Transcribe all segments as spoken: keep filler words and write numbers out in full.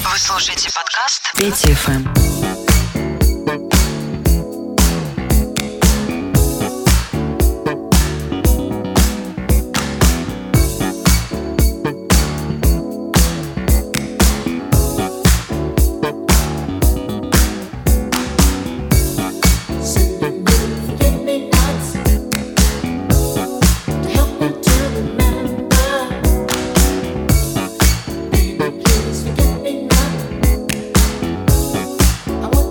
Вы слушаете подкаст Петя эф эм. I want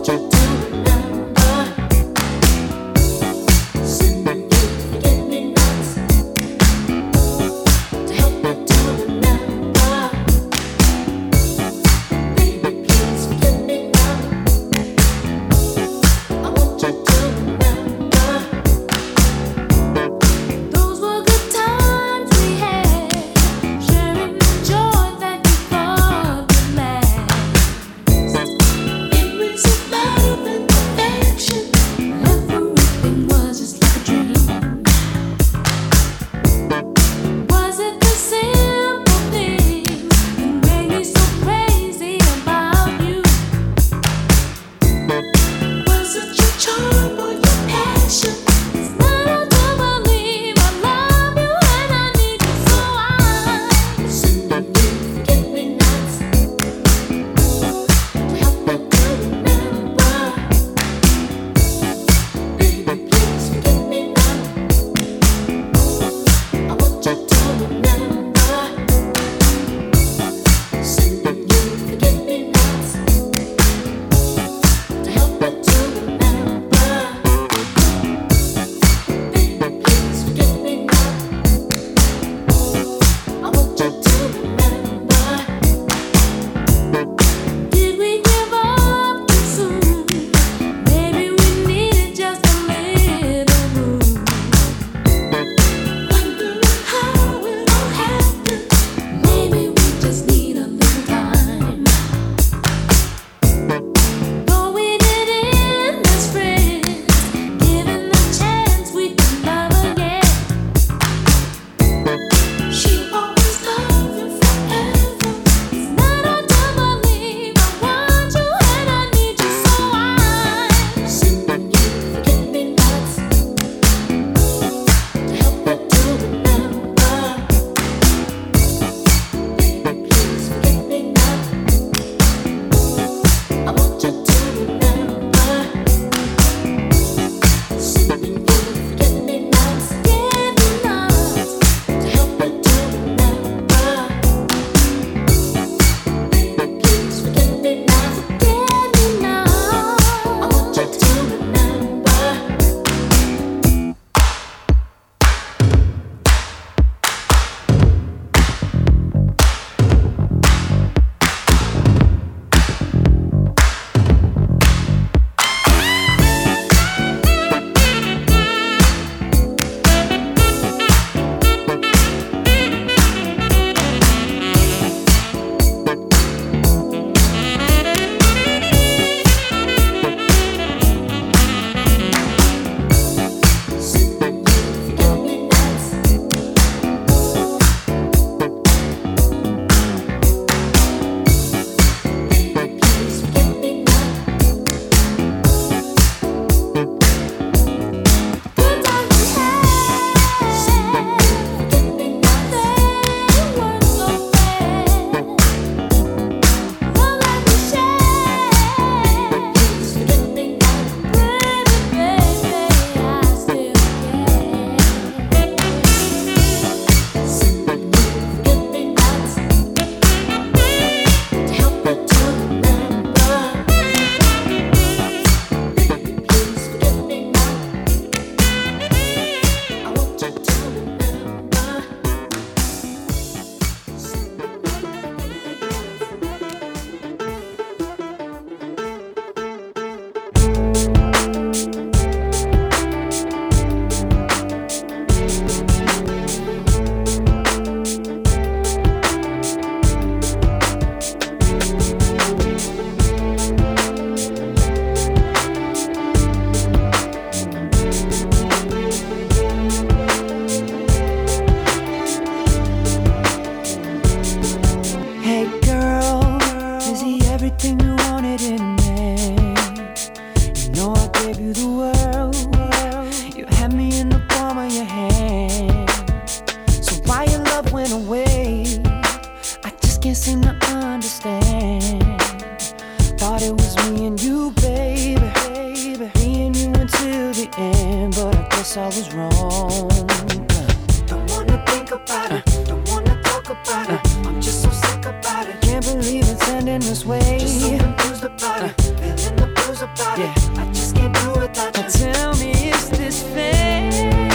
in this way. Just so confused about it, feeling the blues about it. I just can't do without you. Now tell me, is this fair?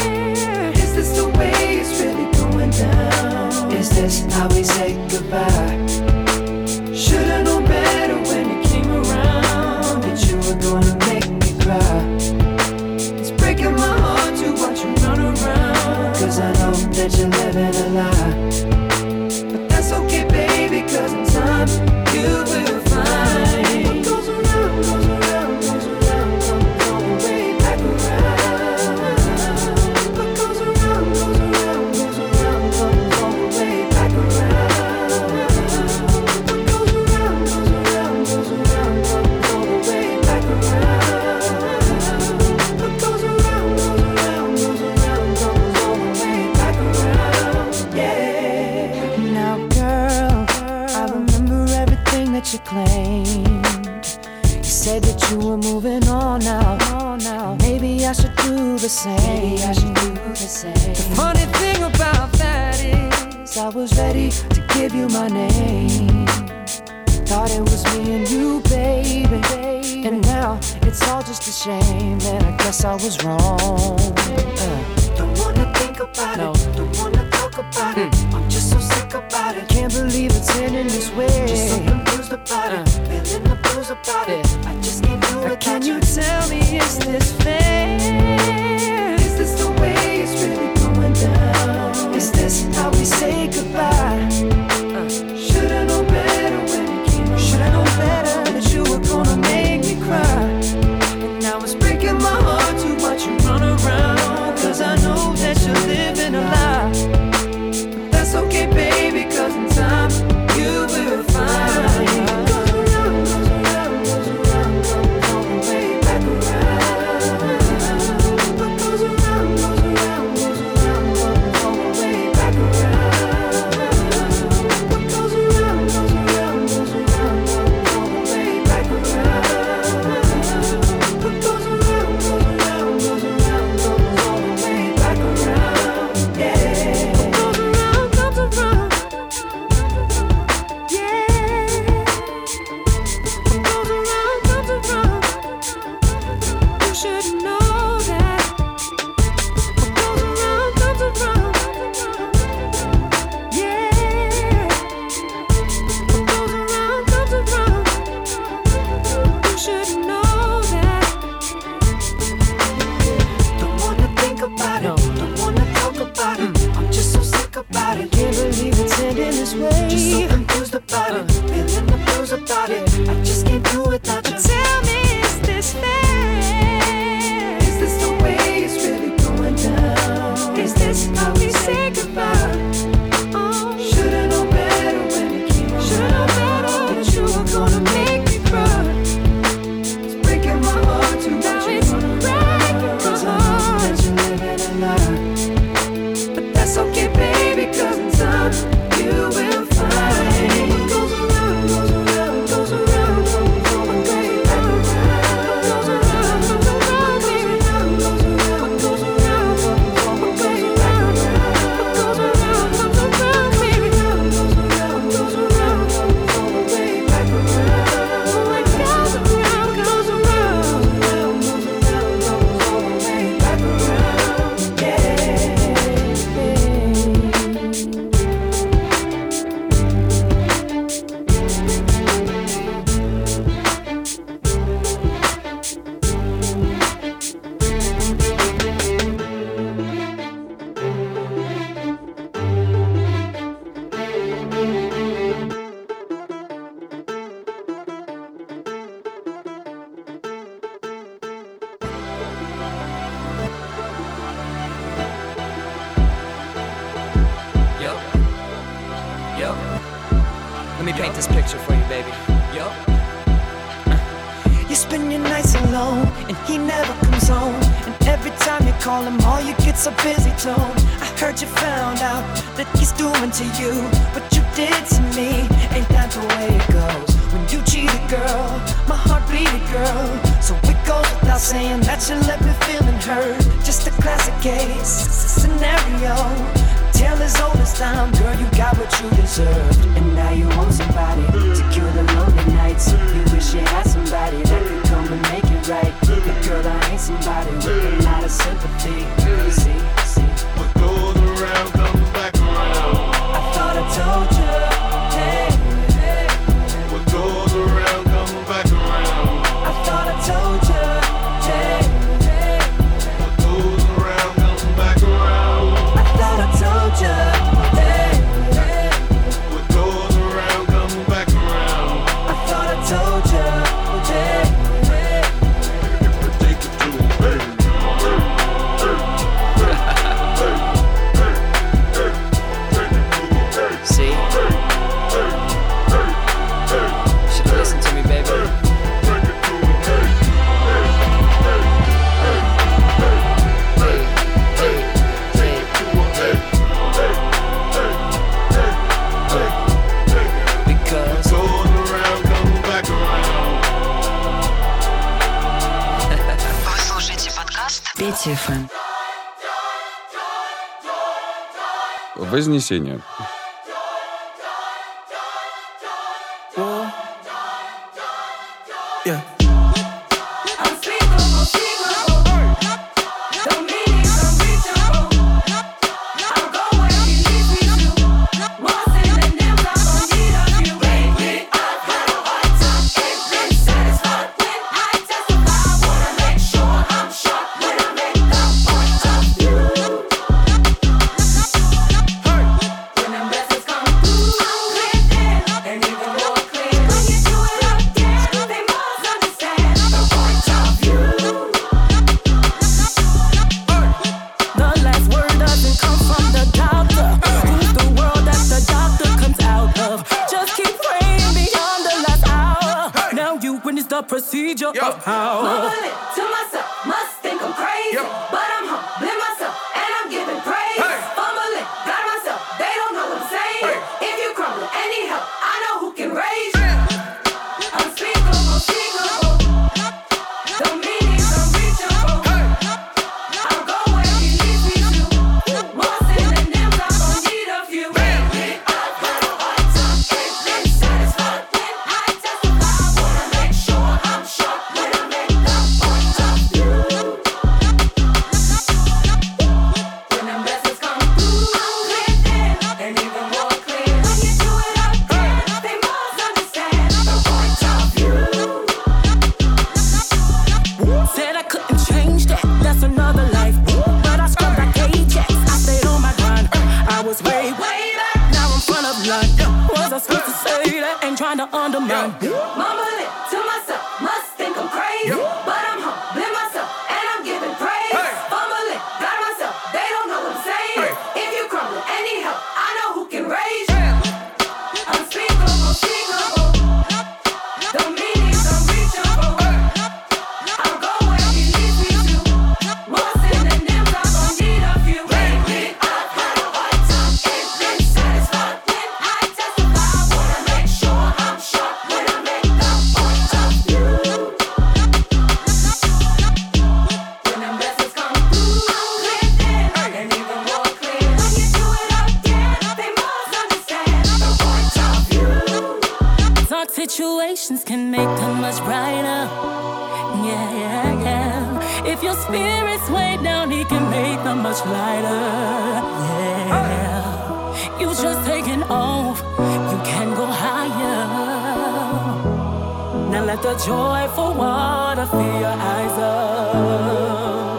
Is this the way it's really going down? Is this how we say goodbye? Should've known better when you came around, that you were gonna make me cry. It's breaking my heart to watch you run around, cause I know that you're living a lie. But that's okay, baby, cause in time you will find what goes around, goes around, goes around, comes all the way back around. What goes around, goes around, goes around, comes all the way back around. What goes around, goes around, goes around, comes all the way back around. What goes around, goes around, goes around, comes all the way back around. Yeah. Now, girl, I remember everything that you claimed. You said that you were moving on now. now. Maybe I should do the same. Maybe I should do the same. The funny thing about that is, I was ready to give you my name. Thought it was me and you, baby. And now it's all just a shame. And I guess I was wrong. Uh. Don't wanna think about No. it, don't wanna talk about it. I'm just so sick about it. Can't believe it's ending this way. Just so confused about it, feeling the blues about it. I just can't do Now without can you. you tell me, is this fair? Is this the way it's really going down? Is this how we say goodbye? Should've known better when you came around. Should've known better that you were gonna make me cry. And now it's breaking my heart to watch you run around, cause I know that you're living a lie. But that's okay, baby, cause in time you will find what goes around, goes around, goes around, comes all the way back around. What goes around, goes around, goes around, comes all the way back around. What goes around, goes around, goes around, comes all the way back around. What goes around, goes around, goes around, comes all the way back around. Yeah. What goes around comes around. Yeah. What goes around comes around. You should know that. What goes around comes around. Yeah. What goes around comes around. You should know that. Don't wanna think about No. it, don't wanna talk about it. I'm just so sick about it. Can't believe it's ending this way. Just so confused about it, feeling the blues about it. I just can't do without you. Tell me, is this fair? Is this the way it's really going down? Is this how we say goodbye? Oh, Should've known better when you came around. should've known better that you were gonna make me cry. It's breaking my heart to Now watch you it's run breaking around, my cause I know heart. that you're living a lie. But that's okay, baby, cause in time you will find what goes around, goes around, goes around, comes all the way back around. What goes around comes around, baby. What goes around, comes all the way back around. What goes around comes around, baby. Goes around, goes around, comes all the way back around. What goes around comes around. Goes around, goes around, comes all the way back around. Yeah. Yo, yo. Let me paint this picture for you, baby. Yo. You spend your nights alone, and he never comes home. And every time you call him, all you get's a busy tone. I heard you found out that he's doing to you what you did to me. Ain't that the way it goes? When you cheated, girl, my heart bleeded, girl. So it goes without saying that you left me feeling hurt. Just a classic case scenario. Tale as old as time, girl, you got what you deserved. And now you want somebody to cure the loneliness. Петя эф эм. Вознесение. Yeah. Procedure Yo. of how Mumble it to myself, must think I'm crazy. Yo. But I'm humbling myself and I'm giving praise. Hey. Fumble it, got myself, they don't know what I'm saying. Hey. If you crumble, any help, I know who can raise you. Unspeakable, unspeakable. The meaning's unreachable. Hey. I'll go where he leads me to. More synonyms, I don't need a few. Lately, I've had a hard time, ain't been satisfied when I testify. Wanna make sure I'm sharp when I make the point of view. When them blessings come through, I'm clear then, and even more clear. When you do it again, they must understand the point of view. said I couldn't change that. That's another life. But I scrubbed like Ajax. I stayed on my grind. I was way, way back. Now I'm front of line. Was I supposed to say that? Ain't trying to undermine. Mumble it to myself, must think I'm crazy. But I'm humbling myself and I'm giving praise. Fumble it, got myself, they don't know what I'm saying. If you crumble, any help, I know who can raise you. Unspeakable, unspeakable. The meaning's unreachable. I'll go where he leads me to. More synonyms, I don't need a few. Lately, I've had a hard time, ain't been satisfied when I testify. Wanna make sure I'm sharp when I make the point of view. When them blessings come through, I'm clear then, and even more clear. When you do it again, they must understand the point of view. Dark situations can make them much brighter. Yeah, yeah, yeah. If your spirit's way down, he can make them much lighter. Yeah. You just taking off, you can go higher. Now let the joyful water fill your eyes up.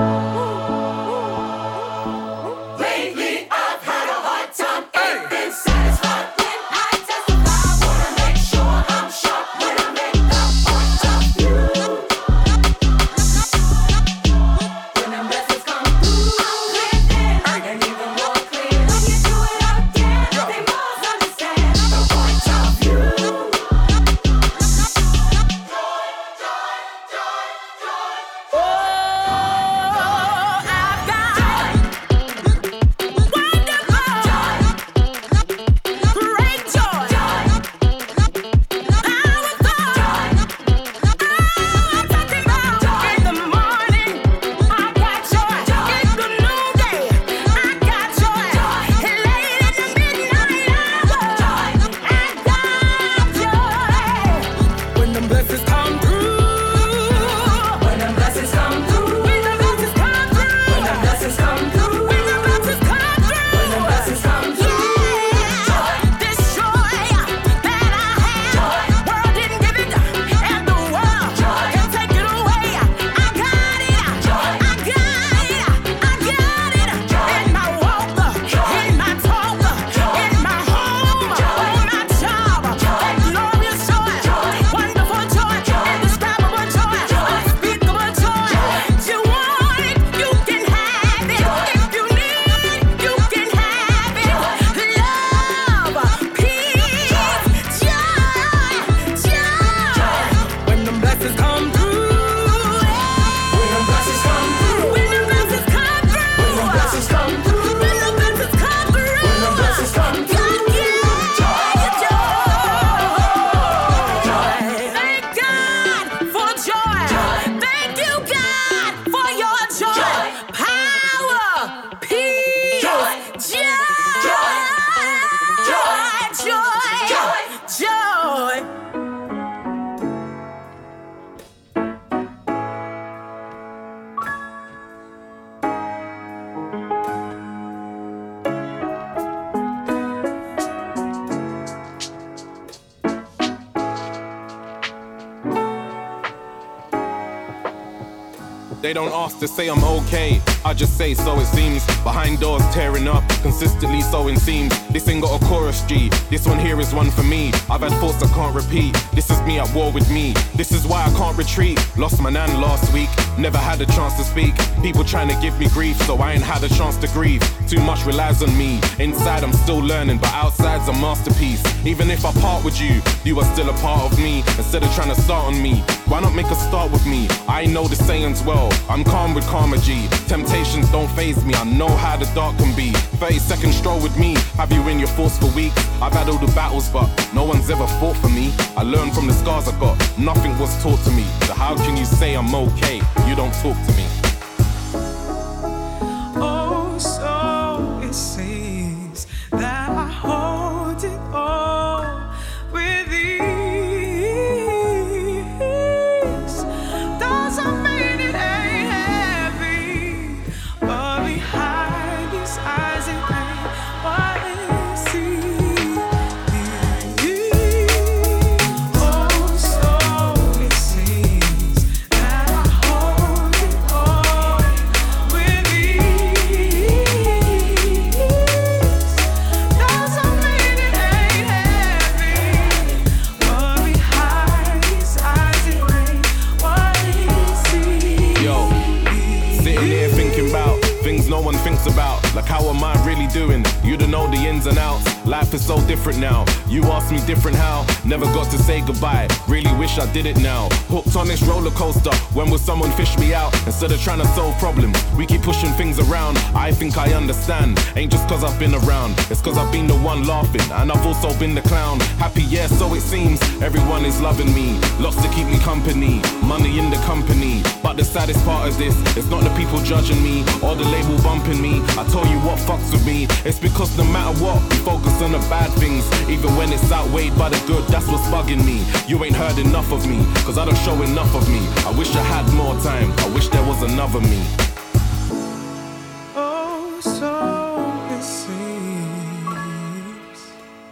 Lately, I've had a hard time, ain't been satisfied when I testify. Wanna make sure I'm sharp when I make the point of view. When them blessings come through, I'm clear then, and even more clear. When you do it again, they must understand the point of view. Oh, They don't ask to say I'm okay, I just say so it seems. Behind doors tearing up, consistently sewing seams. This ain't got a chorus G, this one here is one for me. I've had thoughts I can't repeat, this is me at war with me. This is why I can't retreat, lost my nan last week. Never had a chance to speak, people trying to give me grief, so I ain't had a chance to grieve. Too much relies on me, inside I'm still learning, but outside's a masterpiece. Even if I part with you, you are still a part of me. Instead of trying to start on me, why not make a start with me? I know the sayings well, I'm calm with karma G. Temptations don't faze me, I know how the dark can be. thirty second stroll with me, have you in your thoughts for weeks. I've had all the battles but no one's ever fought for me. I learned from the scars I got, nothing was taught to me. So how can you say I'm okay, you don't talk to me? Oh, so it seems that I hold it all with ease. Doesn't mean it ain't heavy, but behind these eyes it ain't what it seems. Oh, so it seems that I hold it all with ease. Doesn't mean it ain't heavy, but behind these eyes it ain't what it seems. Yo, sitting here thinking about things no one thinks about. Like how am I really doing? You don't know the ins and outs. Life is so different now. You asked me different how. Never got to say goodbye. Really wish I did it now. Hooked on this roller coaster. When will someone fish me out? Instead of trying to solve problems, we keep pushing things around. I think I understand. Ain't just cause I've been around. It's cause I've been the one laughing, and I've also been the clown. Happy, yeah, so it seems. Everyone is loving me. Lots to keep me company. Money in the company. But the saddest part of this, it's not the people judging me or the label bumping me. I tell you what fucks with me. It's because no matter what, we focus on the bad things. Even when it's outweighed by the good, that's what's bugging me. You ain't heard enough of me, cause I don't show enough of me. I wish I had more time, I wish there was another me. Oh, so it seems.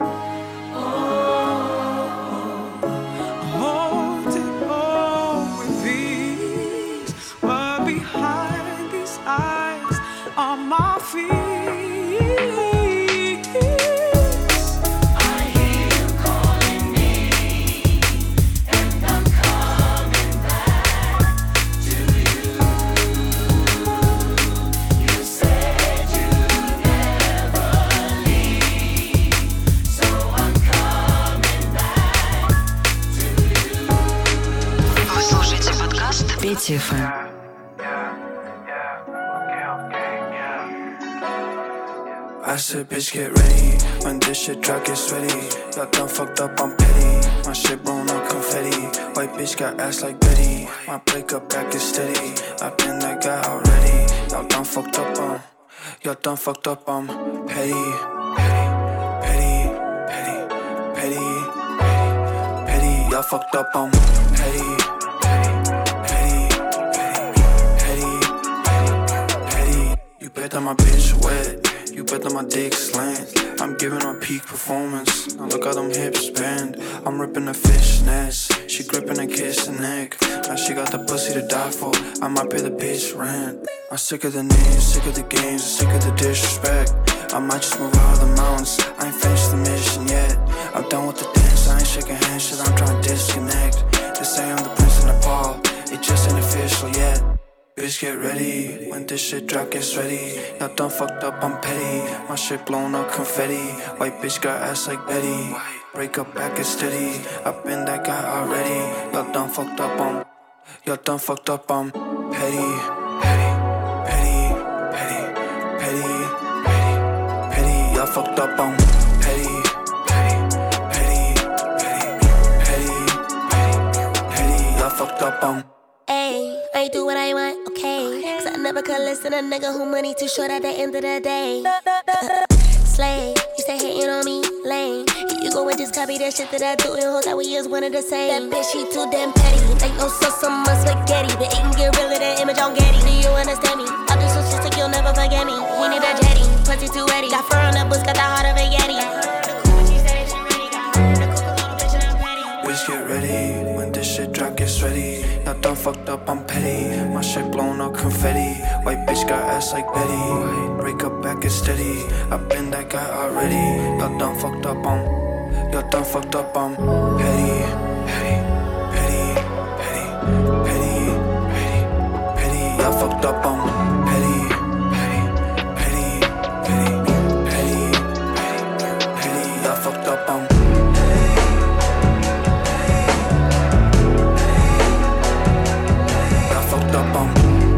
Hold it all with ease, but behind these eyes are my fears. I hear you calling me, and I'm coming back to you. You said you'd never leave, so I'm coming back to you. Вы слушаете подкаст Петя эф эм. I said, bitch, get ready. When this shit drop, get sweaty. Y'all done fucked up, I'm petty. My shit blown up confetti. White bitch got ass like Betty. My breakup back is steady. I've been that guy already. Y'all done fucked up, um. Y'all done fucked up, um. Petty, petty, petty, petty, petty, petty, petty. Y'all fucked up, um. Petty, petty, petty, petty, petty, petty, petty. You bet that my bitch wet. You bet that my dick slant. I'm giving her peak performance. Now look how them hips bend. I'm ripping the fishnets. She gripping and kissing neck. Now she got the pussy to die for. I might pay the bitch rent. I'm sick of the names, sick of the games, sick of the disrespect. I might just move out of the mountains. I ain't finished the mission yet. I'm done with the dance. I ain't shaking hands. Shit, I'm trying to disconnect. They say I'm the prince of Nepal. It just ain't official yet. Bitch, get ready. When this shit drop, get ready. Y'all done fucked up, I'm petty. My shit blown up confetti. White bitch got ass like Betty. Break up back is steady. I've been that guy already. Y'all done fucked up, I'm. Y'all done fucked up, I'm petty. Petty, petty, petty, petty, petty, petty. Y'all fucked up, I'm petty. Petty, petty, petty, petty, petty, petty. Y'all fucked up, I'm. Ayy, I do what I want, okay. Cause I never could listen to a nigga who money too short at the end of the day. Slay, you stay hating on me, lame. You go and just copy that shit that I do and hold that we is one of the same. That bitch, she too damn petty. Ain't no sauce on my spaghetti, but it can get rid of that image on Getty. Do you understand me? I'll do some shit so you'll never forget me. We need a jetty, pussy too wetty. Got fur on the boots, got the heart of a Yeti. Bitch, get ready. When this shit drop, get sweaty. Y'all done fucked up, I'm petty. My shit blown up confetti. White bitch got ass like Betty. Break up back and steady. I've been that guy already. Y'all done fucked up, I'm. Y'all done fucked up, I'm petty, petty, petty, petty, petty, petty, petty. Y'all fucked up, I'm petty, petty, petty, petty, petty, petty, petty. Y'all fucked up, I'm. Y'all fucked up, I'm.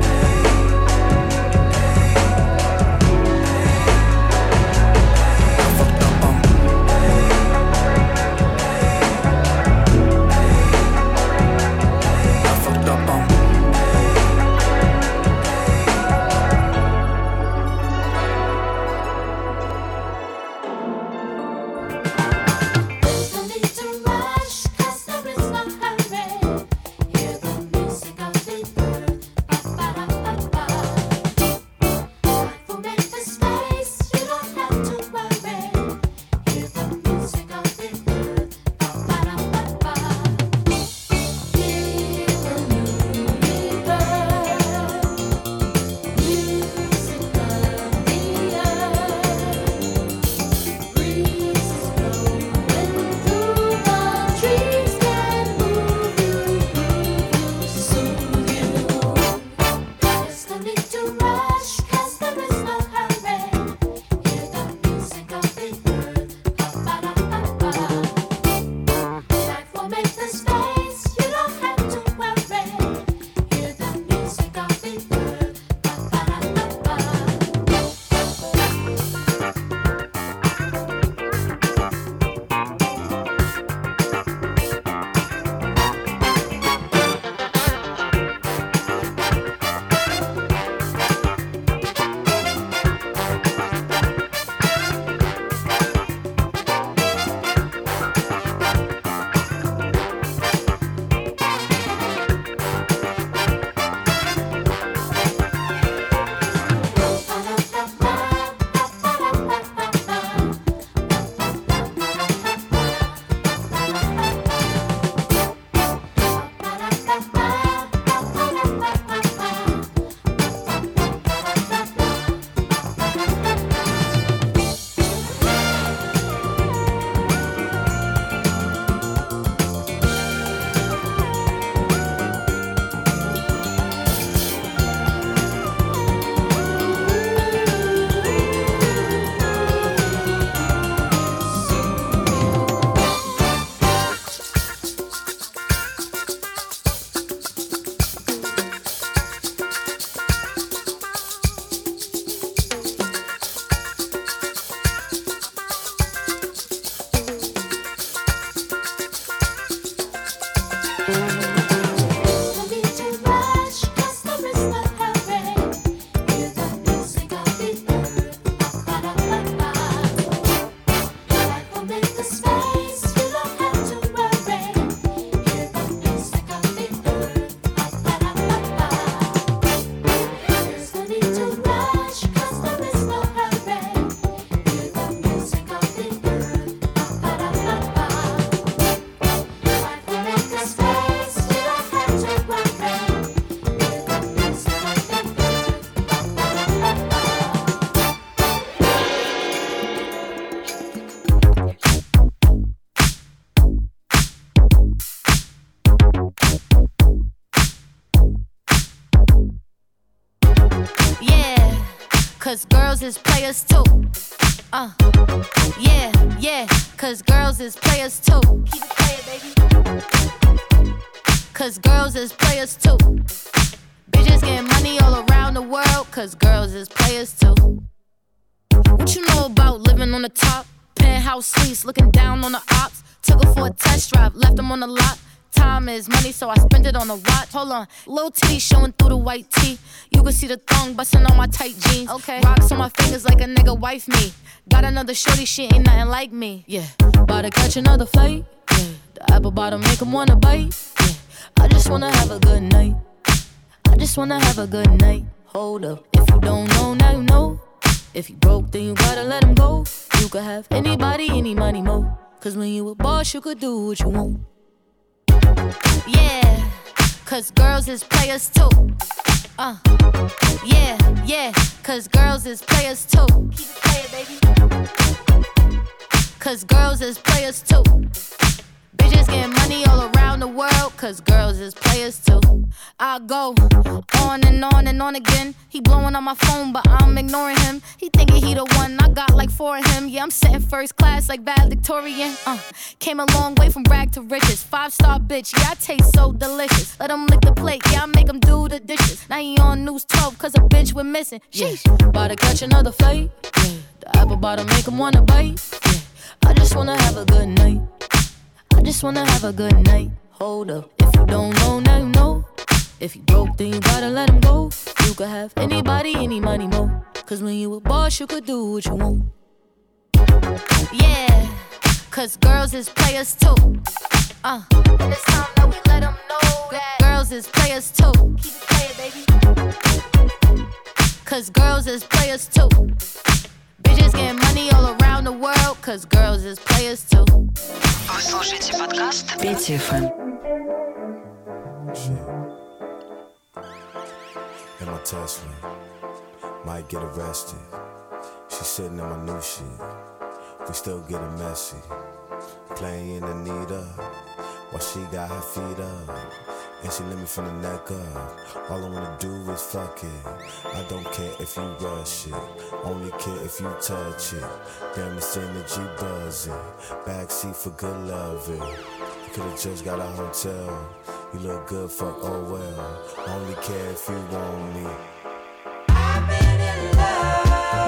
Cause girls is players too. Uh, yeah, yeah, cause girls is players too. Keep it playing, baby. Cause girls is players too. Bitches getting money all around the world, cause girls is players too. What you know about living on the top? Penthouse suites, looking down on the ops. Took her for a test drive, left them on the lot. Time is money, so I spend it on a watch. Hold on, little titty showing through the white tee. You can see the thong bustin' on my tight jeans. Okay, rocks on my fingers like a nigga wife me. Got another shorty, she ain't nothing like me. Yeah, about to catch another flight. Yeah, the apple bottom make him wanna bite. Yeah, I just wanna have a good night. I just wanna have a good night. Hold up, if you don't know, now you know. If you broke, then you gotta let him go. You could have anybody, any money, mo. Cause when you a boss, you could do what you want. Yeah, cause girls is players too. Uh, yeah, yeah, cause girls is players too. Keep it playing, baby. Cause girls is players too. Bitches getting money all around the world, cause girls is players too. I go on and on and on again. He blowing on my phone, but I'm ignoring him. He thinking he the one, I got like four of him. Yeah, I'm sitting first class like valedictorian. Uh, came a long way from rag to riches. Five star bitch, yeah, I taste so delicious. Let him lick the plate, yeah, I make him do the dishes. Now he on news twelve, cause a bitch went missing. Sheesh, about to catch another fight. Yeah. The apple bottom make him wanna bite. Yeah. I just wanna have a good night. I just wanna have a good night. Hold up, if you don't know, now you know. If you broke, then you gotta let him go. You could have anybody, any money, mo. Cause when you a boss, you could do what you want. Yeah, cause girls is players too. Uh, and it's time that we let them know that girls is players too. Keep it playing, baby. Cause girls is players too. Bitches getting money all around the world, cause girls is players too. Вы слушаете подкаст Петя эф эм. In my Tesla, might get arrested. She sitting in my new shit. We still getting messy. Playing Anita while she got her feet up. And she let me from the neck up. All I wanna do is fuck it. I don't care if you rush it. Only care if you touch it. Damn, it's energy buzzing. Backseat for good loving. You could've just got a hotel. You look good, fuck, oh well. Only care if you want me. I've been in love.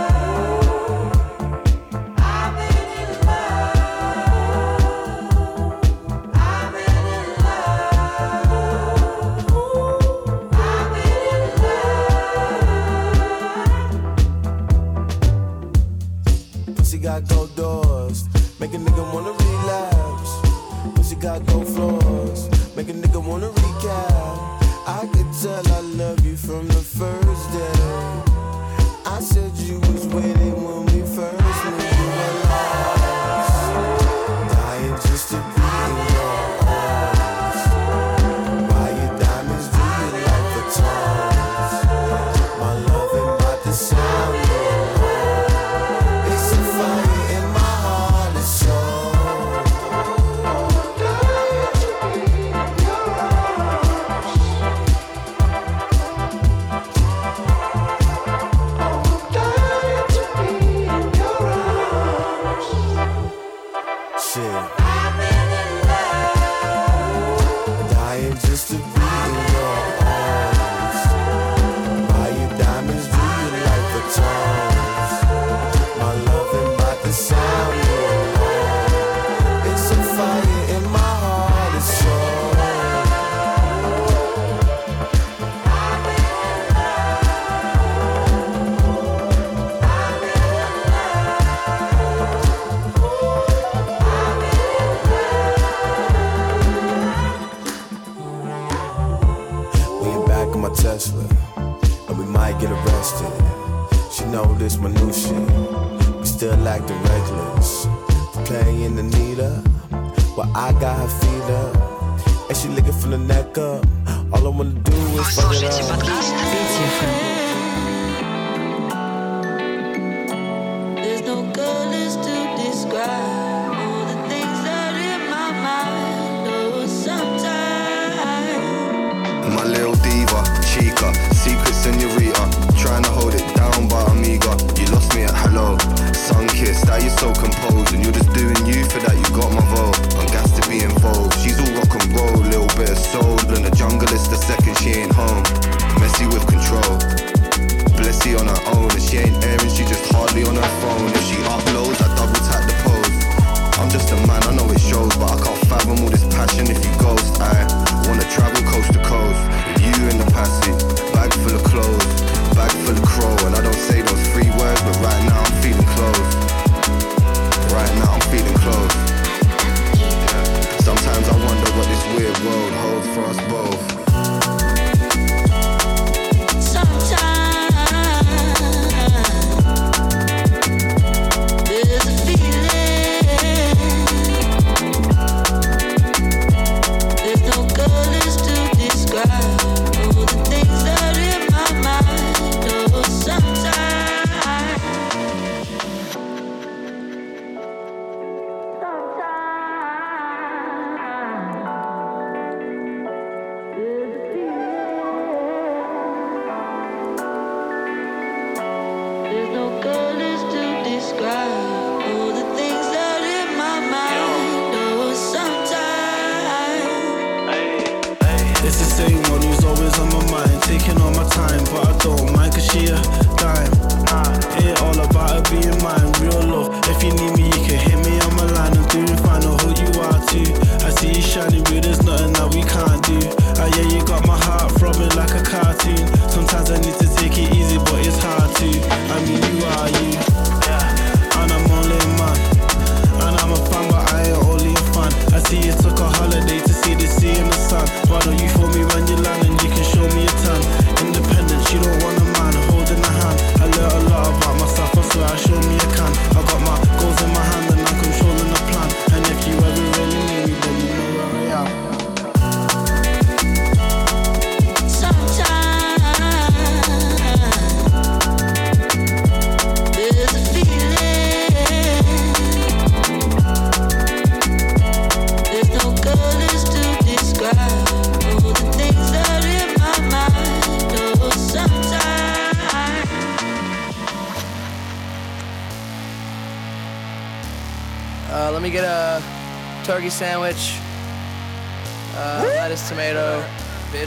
Got gold doors, make a nigga wanna relapse. Pussy got gold floors, make a nigga wanna recap. I could tell I love you from the first day. I said you was waiting when we first knew you were lost. Dying just to be in your arms. Buy your diamonds, do you like the tongues? My love ain't about to sound. Tesla, and we might get arrested. She know this my new shit. We still acting reckless. Playing Anita, but I got her feet up, and she licking from the neck up. All I wanna do is fuck it up. There's no colors to describe all the things that in my mind. Oh, sometimes my little diva, chica, secret senorita, trying to hold it down but I'm eager. You lost me at hello, sun-kissed, that you're so composed, and you're just doing you for that, you got my vote. I'm gassed to be involved, she's all rock and roll, little bit of soul, and the jungle is the second she ain't home. Messy with control, Blessy on her own, and she ain't airing, she just hardly on her phone. If she uploads, I double tap the pose. I'm just a man, I know it shows, but I can't fathom all this passion if you ghost. I wanna travel coast to coast with you in the passage, bag full of clothes, bag full of crow, and I don't say those three words, but right now I'm feeling close. Right now I'm feeling close. Sometimes I wonder what this weird road holds for us both. no It's the same one who's always on my mind, taking all my time, but I don't mind cause she a dime. Ain't all about her being mine, real love. If you need me, you can hit me on my line. I'm doing fine, I'll hold you out too. I see you shining, but there's nothing that we can't do. Ah yeah, you got my heart throbbing like a cartoon. Sometimes I need to take it easy, but it's hard to. I mean, you are you, and I'm only a man. And I'm a fan, but I ain't only a fan. I see you took a holiday to see the sea and the sun. Why don't you phone me when you land and you can show me a ton? Independence, you don't want a man holding a hand. I learned a lot about myself, I swear I show me a can. I got my goals in my hand and I'm controlling the plan. And if you ever really need me, then you know where I am. Uh, let me get a turkey sandwich, uh, lettuce, tomato, bitch.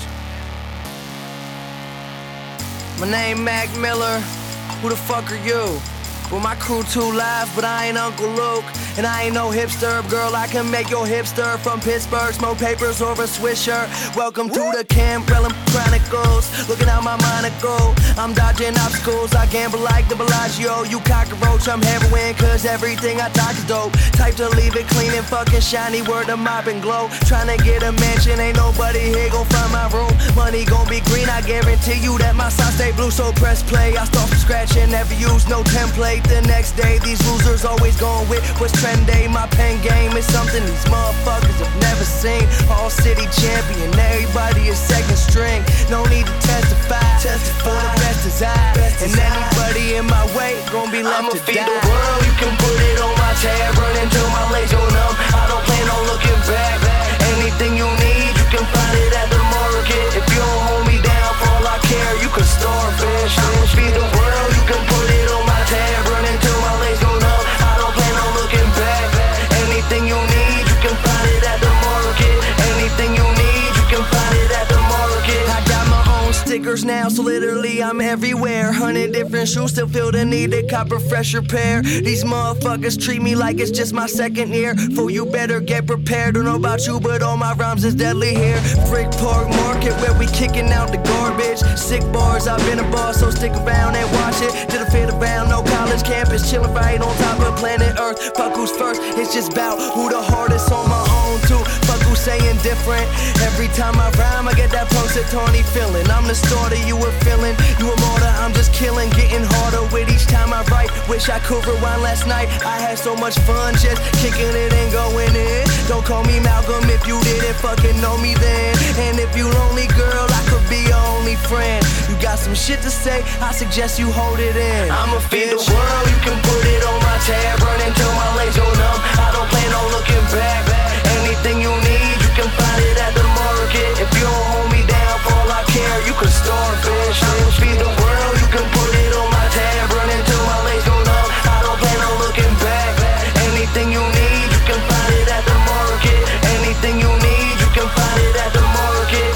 My name Mac Miller. Who the fuck are you? Well, my crew too live, but I ain't Uncle Luke. And I ain't no hipster, girl, I can make your hipster. From Pittsburgh, smoke papers over a Swiss shirt. Welcome to the Cambrellum Chronicles. Looking out my monocle, I'm dodging obstacles. I gamble like the Bellagio. You cockroach, I'm heroin, cause everything I talk is dope. Type to leave it clean and fucking shiny, word to mop and glow. Tryna get a mansion, ain't nobody here gon' find my room. Money gon' be green, I guarantee you that my side stay blue. So press play, I start from scratch and never use no template. The next day, these losers always going with what's trendy. My pen game is something these motherfuckers have never seen. All city champion, everybody is second string. No need to testify, for the best is I. And anybody in my way gon' be left I'ma to feed die. the world, you can put it on my tab. Run until my legs go numb, I don't plan on looking back. Anything you need, you can find it at the market. If you don't hold me down for all I care, you can starfish. I'ma feed the world, you can put it on my tab. Run until my legs go numb, I don't plan on looking back. Anything you need, you can find it at the market. Anything you need, you can find it at the market. I got my own stickers now, so literally I'm everywhere. Hundred different shoes, still feel the need to cop a fresher pair. These motherfuckers treat me like it's just my second year. Fool, you better get prepared. Don't know about you, but all my rhymes is deadly here. Frick Park Market, where we kicking out the garbage. Sick bars, I've been a boss, so stick around and watch it. Did a fit around, no college campus, chillin' right on top of planet Earth. Fuck who's first, it's just bout who the hardest on my own too. Fuck who's saying different. Every time I rhyme, I get that Punxsutawney feeling. I'm the starter, you were feeling. You a martyr, I'm just killing. Getting harder with each time I write. Wish I could rewind last night. I had so much fun just kicking it and going in. Don't call me Malcolm if you didn't fucking know me then. And if you lonely, girl, I could be your only friend. You got some shit to say, I suggest you hold it in. I'ma feed the world, you can put it on my tab. Run until my legs go numb, I don't plan on looking back. Anything you need, you can find it at the market. If you don't hold me down for all I care, you can starfish. I'ma feed the world, you can put it on my tab. Run until my legs go numb, I don't plan on looking back. Anything you need, you can find it at the market. Anything you need, you can find it at the market.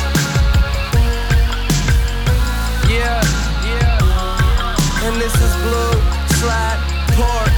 Yeah, yeah. And this is Blue Slide Park.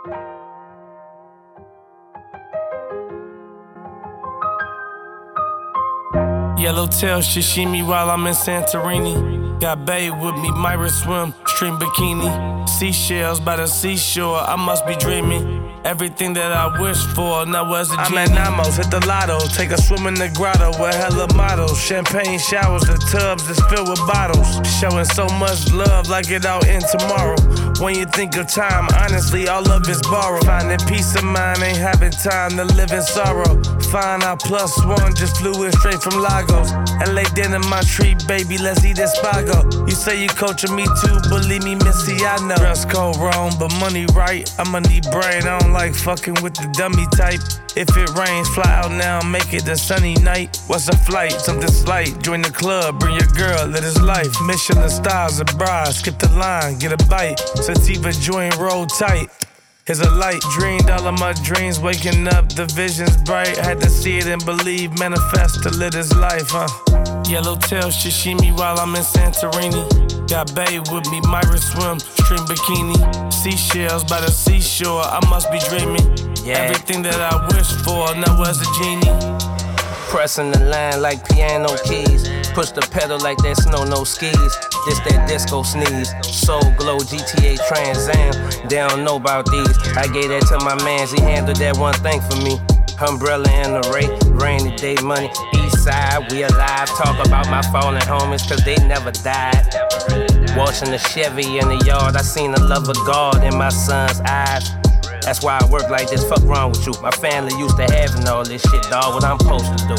Yellowtail sashimi while I'm in Santorini. Got babe with me, Myra swim, stream bikini. Seashells by the seashore, I must be dreaming. Everything that I wish for, now as a genie. I'm at Namos, hit the lotto, take a swim in the grotto with hella models. Champagne showers, the tubs is filled with bottles. Showing so much love like it out in tomorrow. When you think of time, honestly, all of it's borrowed. Finding peace of mind, ain't having time to live in sorrow. Fine, I plus one, just flew in straight from Lagos. L A dinner, my treat, baby, let's eat Espago. You say you coaching me too, believe me, Missy, I know. Dress code wrong, but money right, I'ma need brain. I don't like fucking with the dummy type. If it rains, fly out now, make it a sunny night. What's a flight? Something slight. Join the club, bring your girl, live his life. Michelin stars, a bride, skip the line, get a bite. Sativa joint, roll tight. Here's a light, dreamed all of my dreams, waking up, the vision's bright. Had to see it and believe, manifest to live this life, huh? Yellowtail sashimi while I'm in Santorini. Got babe with me, Myra swim, stream bikini. Seashells by the seashore, I must be dreaming. Yeah. Everything that I wish for, now as a genie. Pressing the line like piano keys. Push the pedal like that snow, no skis. This that disco sneeze. Soul Glow, G T A Trans Am. They don't know about these. I gave that to my mans, he handled that one thing for me. Umbrella in the rain, rainy day money. East side, we alive. Talk about my fallen homies, cause they never died. Washing the Chevy in the yard, I seen the love of God in my son's eyes. That's why I work like this, fuck wrong with you. My family used to having all this shit, dawg, what I'm supposed to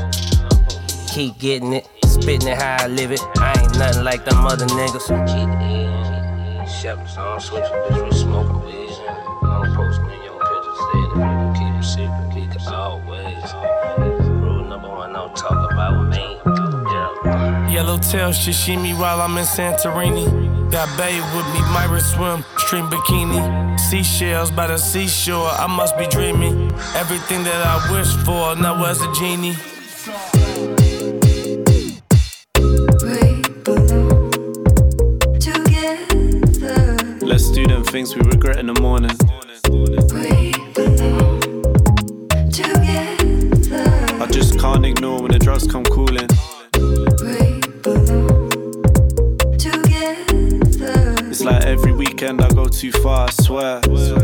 do. Keep getting it, spitting it how I live it. I ain't nothing like them other niggas. Keep it in, shepherds on switch, bitch, we smoking weed. I'm posting in your pictures, say that people keep it secret, keep it always. Rule number one, don't talk about me. Yeah. Yellowtail sashimi while I'm in Santorini. Got babe with me, Myra swim, stream bikini. Seashells by the seashore, I must be dreaming. Everything that I wish for, now as a genie. Let's do them things we regret in the morning. I just can't ignore when the drugs come cooling. It's like every weekend I go too far, I swear.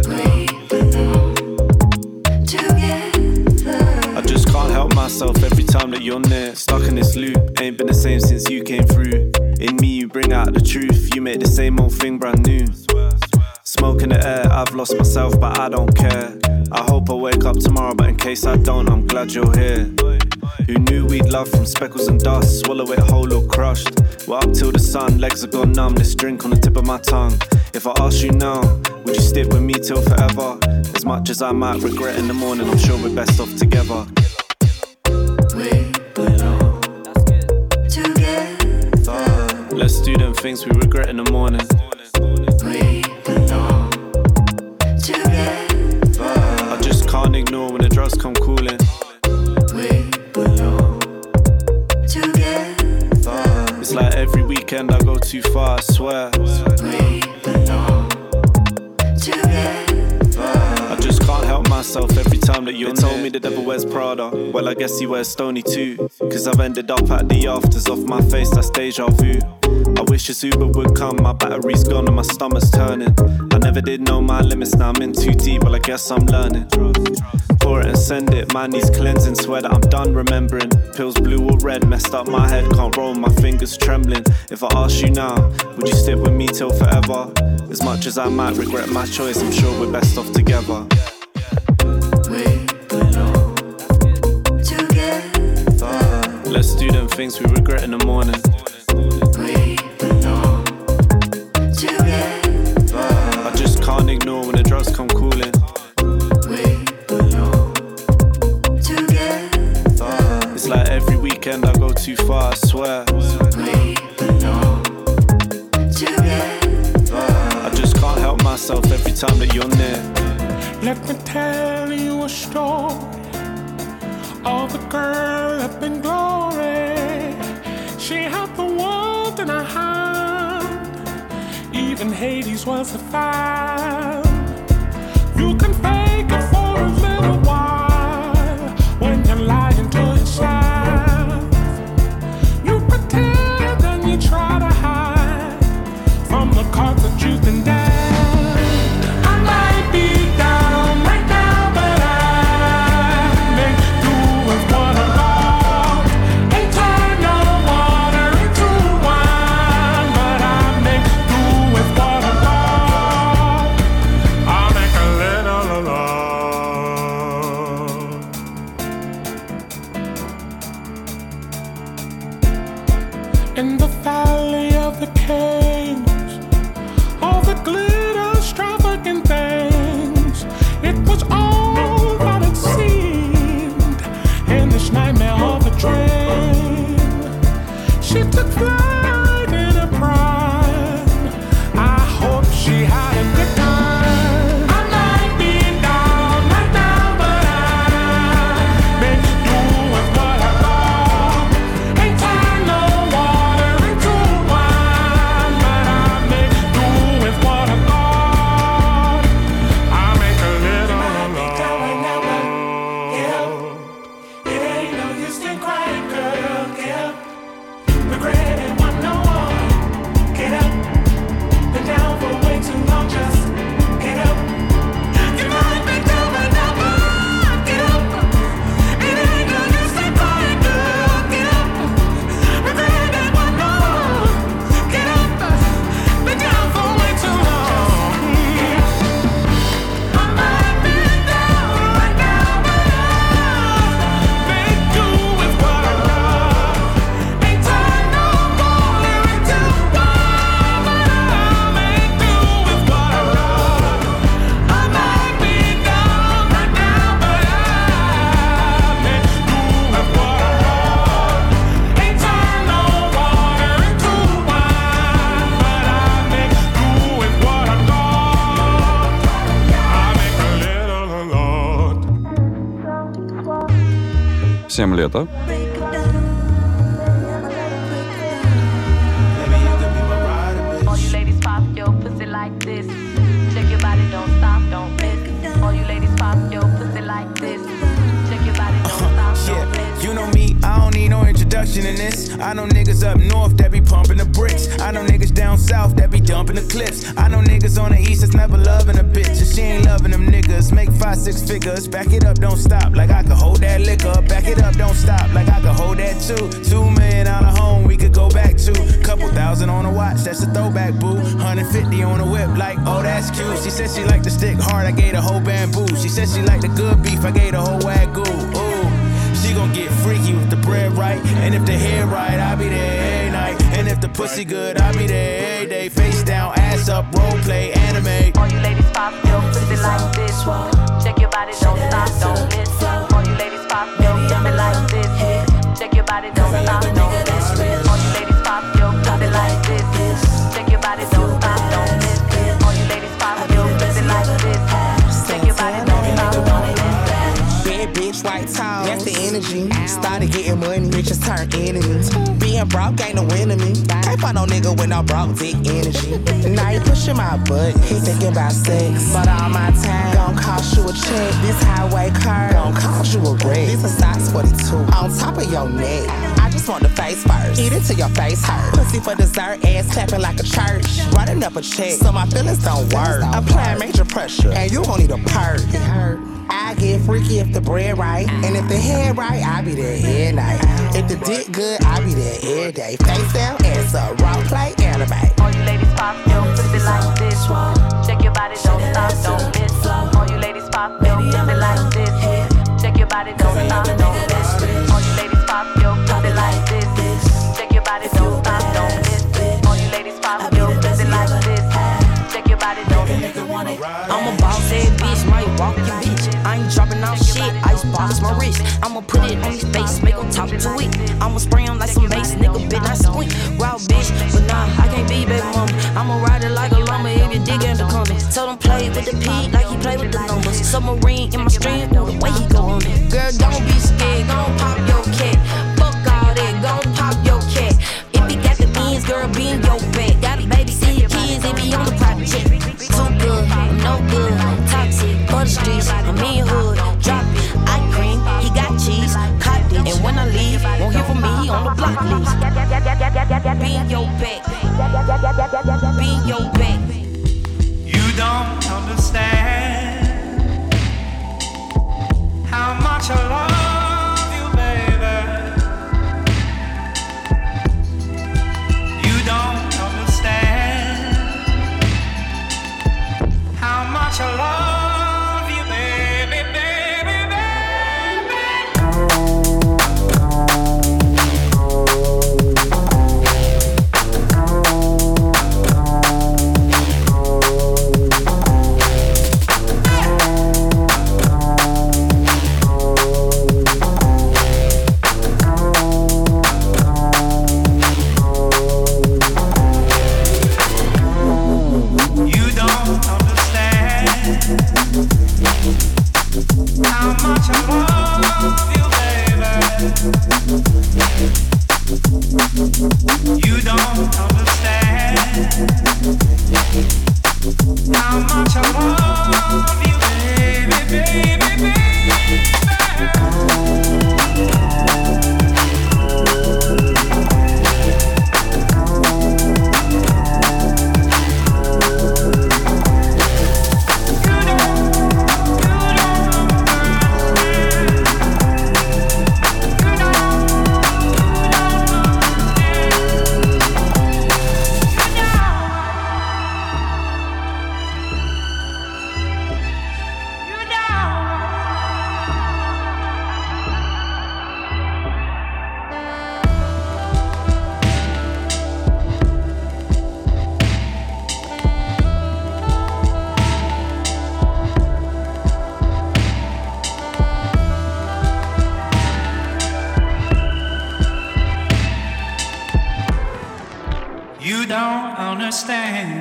I just can't help myself every time that you're near. Stuck in this loop, ain't been the same since you came through. In me you bring out the truth, you make the same old thing brand new. Smoke in the air, I've lost myself but I don't care. I hope I wake up tomorrow, but in case I don't, I'm glad you're here. Who knew we'd love from speckles and dust, swallow it whole or crushed. We're up till the sun, legs are gone numb, this drink on the tip of my tongue. If I ask you now, would you stick with me till forever? As much as I might regret in the morning, I'm sure we're best off together. We belong together. Let's do them things we regret in the morning. We belong together. I just can't ignore when the drugs come cooling. We belong together. It's like every weekend I go too far, I swear. We belong together. I just can't help myself every time that you're They told me the devil wears Prada, well I guess he wears Stoney too. Cause I've ended up at the afters, off my face, that's deja vu. I wish this Uber would come, my battery's gone and my stomach's turning. I never did know my limits, now I'm in too deep, well I guess I'm learning. Pour it and send it, man needs cleansing, swear that I'm done remembering. Pills blue or red, messed up my head, can't roll, my fingers trembling. If I ask you now, would you stick with me till forever? As much as I might regret my choice, I'm sure we're best off together. We belong together. Let's do them things we regret in the morning. We belong together. I just can't ignore when the drugs come cooling. We belong together. It's like every weekend I go too far, I swear. We belong together. I just can't help myself every time that you're near. Let me tell you a story of a girl up in glory. She had the world in her hand, even Hades was a fan. семь лет, а? All you ladies pop your pussy like this. Check your body, don't stop, don't miss. All you ladies pop your pussy like this. Check your body, don't stop, don't miss. You know me, I don't need no introduction in this. I know niggas up north that be pumping the bricks. I know niggas down south that be dumping the clips. I know niggas on the east that's never loving a bitch. If she ain't loving them niggas, make five, six figures. Back it up, don't stop, like I could hold that liquor. Back it up, don't stop, like I could hold that too. Two million dollar home we could go back to. Couple thousand on a watch, that's a throwback, boo. one hundred fifty on a whip, like, oh, that's cute. She said she liked the stick hard, I gave the whole bamboo. She said she liked the good beef, I gave the whole wagyu. Ooh. She gon' get freaky with the bread right. And if the hair right, I'll be there every night. And if the pussy good, I'll be there every day. Face down, ass up, role play, anime. All you ladies pop your pussy like this. Check your body, don't stop, don't miss. All you ladies pop your pussy like this. Check your body, don't stop, don't miss. All you ladies pop your pussy like this. Check your body, don't stop, don't miss. All you ladies pop your pussy like this. Check your body, don't stop, don't miss. Bad bitch, white tall, that's the energy. Started getting money, bitches turn enemies. Being broke ain't no enemy. Can't find no nigga with no broke dick energy. Now you pushing my butt, he thinking about sex. But all my time gon' cost you a check. This highway car gon' cost you a wreck. This a size forty-two on top of your neck. I just want the face first, eat it till your face hurt. Pussy for dessert, ass clapping like a church. Running up a check, so my feelings don't work. Applying major pressure, and you gon' need a perk. I get freaky if the bread right, and if the head right, I be there every night. If the dick good, I be there every day. Face down, ass up, role play, anime. All you ladies pop your pussy like this. Check your body, don't stop, don't miss. All you ladies pop your pussy like this. Check your body, don't stop, don't miss. All you ladies pop your pussy like this. Check your body, don't stop, don't miss. All you ladies pop your pussy like this. Check your body, don't miss. I'm a boss ass bitch, might walk your bitch. I ain't dropping off shit, icebox my wrist. I'ma put it on his face, make him talk to it. I'ma spray him like some bass, nigga, bitch, I squint. Wild bitch, but nah, I can't be baby mama. I'ma ride it like a llama if your dick ain't the coming. Told him play with the P like he play with the numbers. Submarine in my stream, the way he go on it. Girl, don't be scared, gon' pop your cat. Fuck all that, gon' pop your cat. If he got the beans, girl, be in your back. Got a baby, see your kids, they be on the project. Too good, I'm no good, toxic, for the streets, I'm in your hood, drop it, ice cream, he got cheese, cocked it, and when I leave, won't hear from me, he on the block list. Be in your back, be in your back. You don't understand how much I love you, baby. You don't understand how much I love you, baby, baby, baby. You don't understand.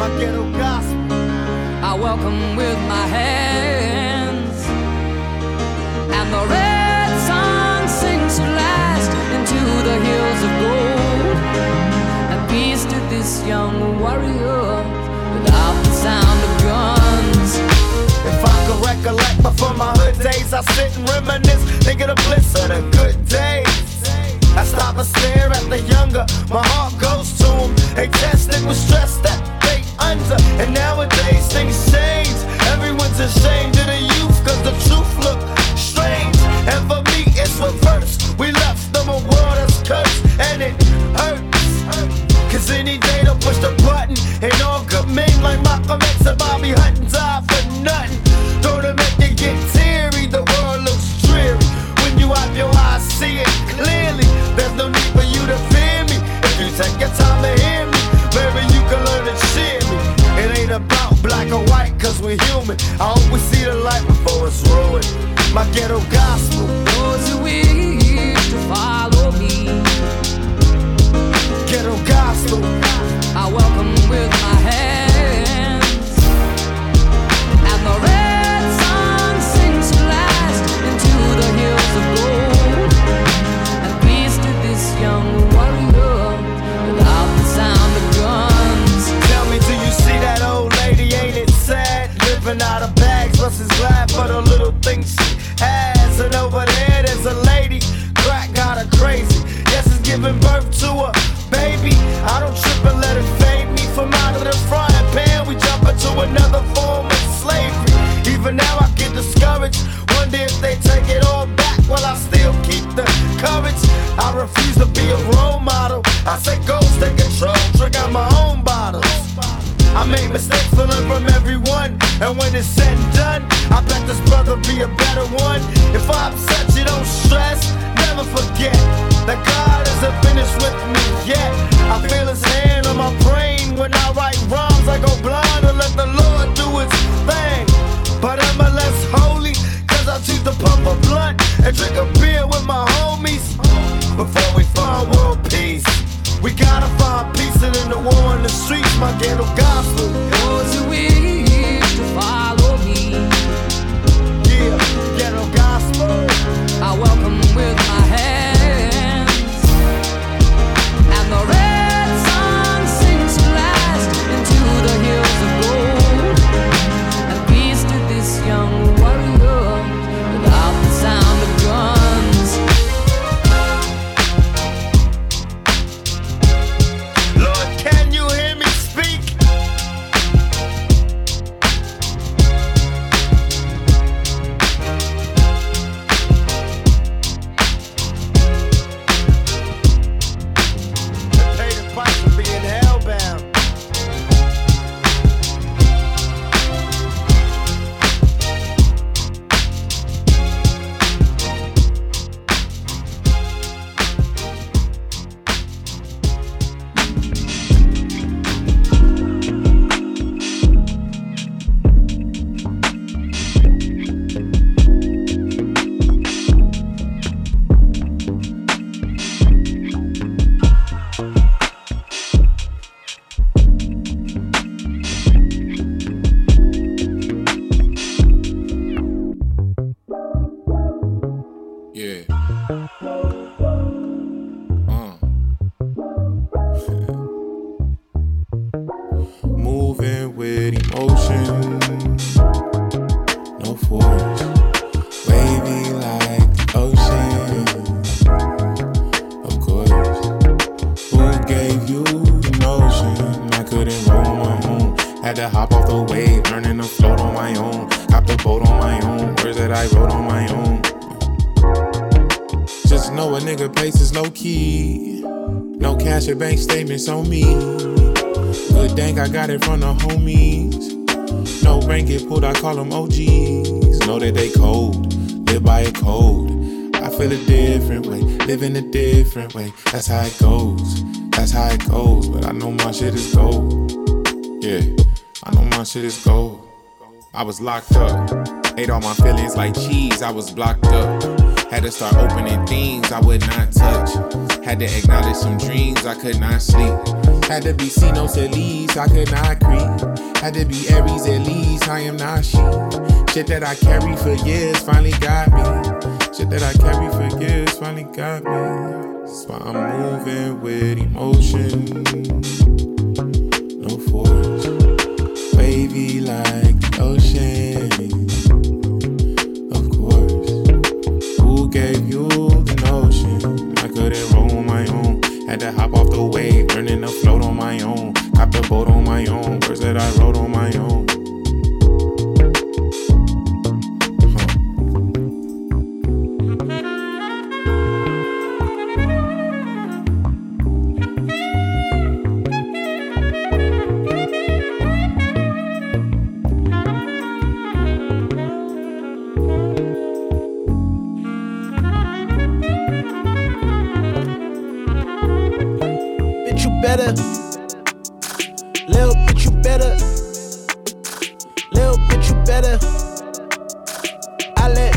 my ghetto gospel. I welcome with my hands, and the red sun sinks at last into the hills of gold. And peace to this young warrior without the sound of guns. If I could recollect before my hood days, I sit and reminisce, think of the bliss of the good days. I stop and stare at the younger, my heart goes to them. They tested with stress that they under, and nowadays things change. Everyone's ashamed of the youth, cause the truth look strange. And for me it's reverse, we left them a world that's cursed, and it hurts. Cause any day they'll push the button, and all good men like Malcolm X and Bobby Hutton die for nothing. Don't it make you get teary, the world looks dreary. When you have your eyes, see it clearly. There's no need for you to fear me. If you take your time to hear me, maybe you can learn to cheer me. It ain't about black or white, cause we're human. I hope we see the light before it's ruined. My ghetto gospel. Those who wish to follow me, ghetto gospel, I welcome with my hands, and the red sun sinks at last into the hills of gold. And peace to this young warrior without the sound of guns. Tell me, do you see that old lady? Ain't it sad? Living out of bags, versus glad for the little things she has. And over there, there's a lady, crack got her crazy. Yes, it's giving birth to a baby. I don't trip and let it fade me. From out of the frying pan, we jump into another form of slavery. Even now I get discouraged, wonder if they take it all back. While I still keep the courage, I refuse to be a role model. I say go, take control, drink out my own bottles. I make mistakes to learn from everyone, and when it's said and done, I bet this brother be a better one. If I upset you, don't stress, never forget that God isn't finished with me yet. I feel his hand on my brain when I write rhymes. I go blind and let the Lord do his thing. But am I less holy? Cause I choose to pump a blunt and drink a beer with my homies. Before we find world peace, we gotta find peace in the war in the streets, my ghetto gospel. Those who wish to follow me, yeah, ghetto gospel, I welcome with my hands, and the red sun sinks at last into the hills of gold. And peace to this young warrior without the sound of guns. Lord, can you hear me speak? Pay the price for being hellbound. Yeah. Uh. Moving with emotion, no force, wavy like the ocean. Of course, who gave you the notion I couldn't roll my own? Had to hop off the wave, learning to float on my own. Got the boat on my own, words that I wrote on my own. Just know a nigga pace is low key. No cash or bank statements on me. Good dang, I got it from the homies. No rank get pulled, I call them O Gs. Know that they cold, live by a code. I feel a different way, live in a different way. That's how it goes, that's how it goes. But I know my shit is gold. Yeah, I know my shit is gold. I was locked up, ate all my feelings like cheese, I was blocked up. Had to start opening things I would not touch. Had to acknowledge some dreams I could not sleep. Had to be C-notes at least, I could not creep. Had to be Aries at least, I am not she. Shit that I carry for years finally got me. Shit that I carry for years finally got me. That's why I'm moving with emotion. No force, wavy like the ocean. Of course, who gave you the notion? I couldn't roll on my own. Had to hop off the wave, learning to float on my own. Cop the boat on my own, words that I wrote on my own. Better, little bit you better, little bit you better. I let,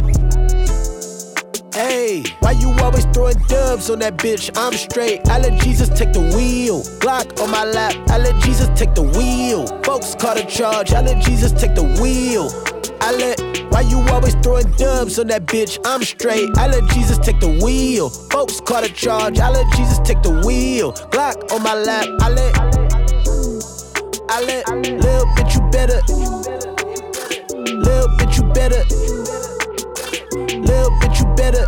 hey, why you always throwing dubs on that bitch? I'm straight. I let Jesus take the wheel. Glock on my lap. I let Jesus take the wheel. Folks caught a charge. I let Jesus take the wheel. I let. Why you always throwing dubs on that bitch? I'm straight. I let Jesus take the wheel. Folks caught a charge. I let Jesus take the wheel. Glock on my lap. I let, I let, little bitch you better, little bitch you better, little bitch you better,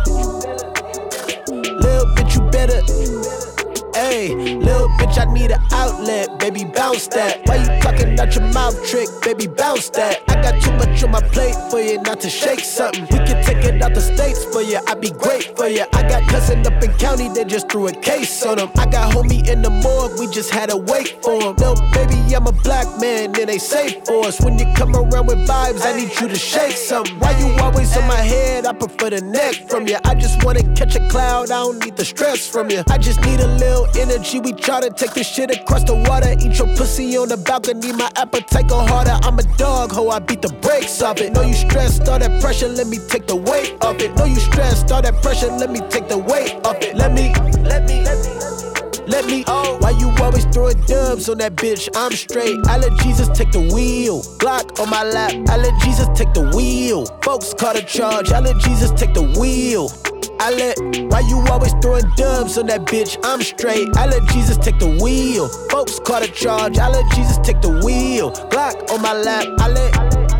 little bitch you better. Hey, little bitch, I need an outlet, baby, bounce that. Why you talking out your mouth trick, baby, bounce that. I got too much on my plate for you not to shake something. We can take it out the States for you, I'd be great for you. I got cousin up in county, they just threw a case on him. I got homie in the morgue, we just had to wait for him. Little baby, I'm a black man, then they safe for us. When you come around with vibes, I need you to shake something. Why you always on my head, I prefer the neck from you. I just wanna catch a cloud, I don't need the stress from you. I just need a little energy, we try to take this shit across the water. Eat your pussy on the balcony, my appetite go harder. I'm a dog, ho, I beat the brakes off it. Know you stressed, all that pressure, let me take the weight off it. Know you stressed, all that pressure, let me take the weight off it. Let me, let me, let me, let me, oh. Why you always throwing dubs on that bitch? I'm straight, I let Jesus take the wheel. Glock on my lap, I let Jesus take the wheel. Folks caught a charge, I let Jesus take the wheel. I let, why you always throwing dubs on that bitch? I'm straight, I let Jesus take the wheel. Folks caught a charge, I let Jesus take the wheel. Glock on my lap, I let,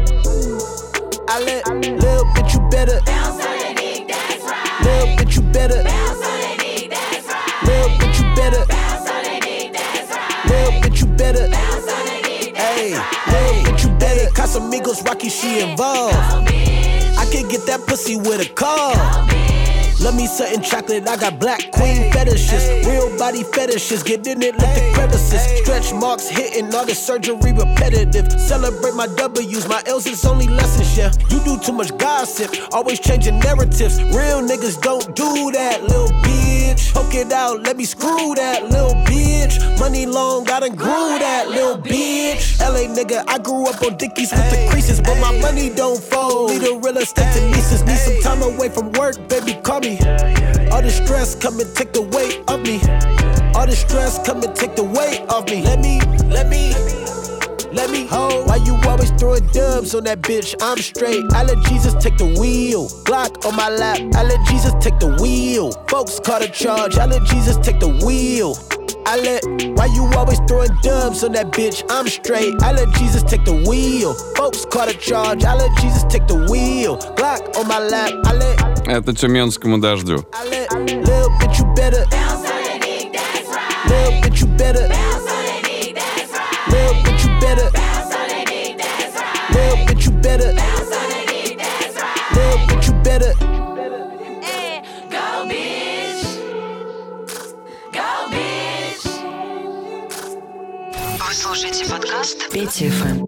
I let, little bitch you better. Bounce on the dick, that's right. Little bitch you better. Bounce on the dick, that's right. Little bitch you better. Bounce on the dick, that's right. Little bitch you better. Bounce on the dick, that's right. Hey, little bitch you better. Casamigos, Rocky, she involved. I can get that pussy with a call. Love me something chocolate, I got black queen fetishes. Real body fetishes, get in it like the crevices. Stretch marks hitting, all the surgery repetitive. Celebrate my W's, my L's is only lessons, yeah. You do too much gossip, always changing narratives. Real niggas don't do that, little bitch. Poke it out, let me screw that, little bitch. Money long, I done grew that, little bitch. L A nigga, I grew up on Dickies with the creases, but my money don't fold. Need a real estate to nieces, need some time away from work, baby, call me. All the stress come and take the weight off me. All the stress come and take the weight off me. Let me, let me, let me hold. Why you always throwing dubs on that bitch? I'm straight, I let Jesus take the wheel. Glock on my lap, I let Jesus take the wheel. Folks caught a charge, I let Jesus take the wheel. I let, why you always throwing dubs on that bitch? I'm straight, I let Jesus take the wheel. Folks caught a charge, I let Jesus take the wheel. Glock on my lap, I let. Это Тюменскому дождю. I let, little bitch you better. Bounce on the dick, that's right. Little bitch you better. Bounce on the dick, that's right. Little bitch you better. Bounce on the dick, that's right. Little bitch you better. Bounce on the dick, that's right. Little bitch you better. Go bitch. Go bitch. Вы слушаете подкаст Петя эф эм.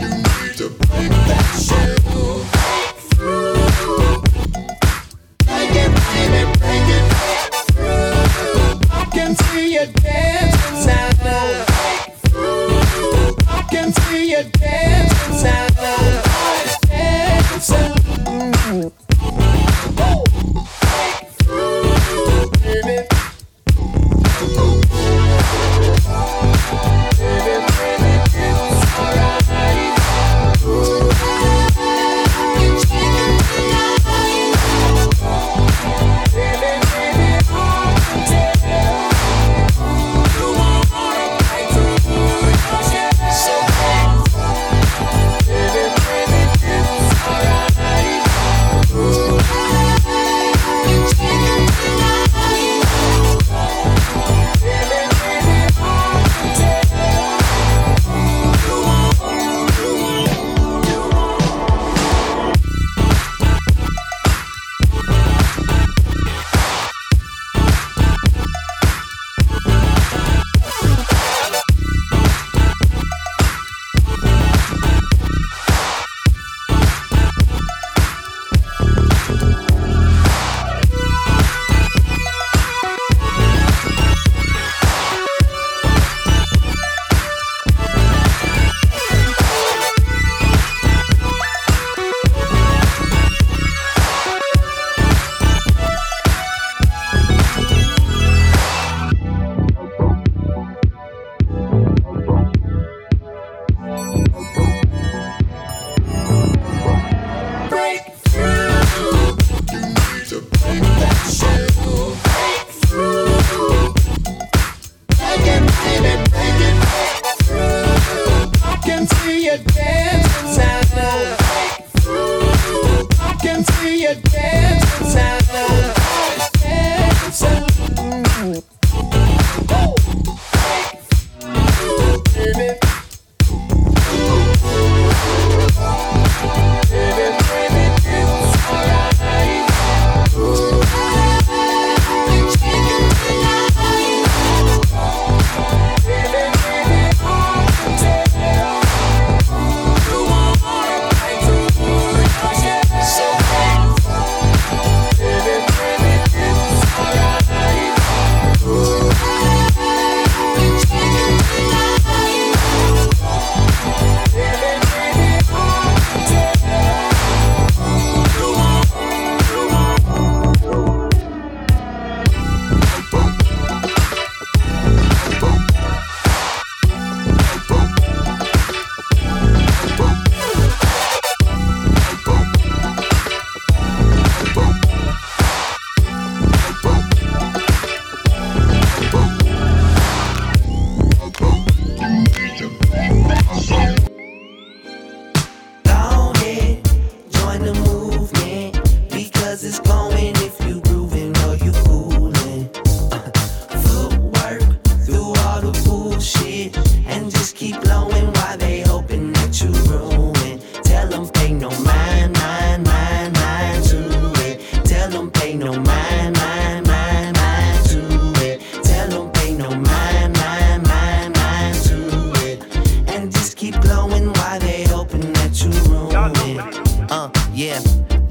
Break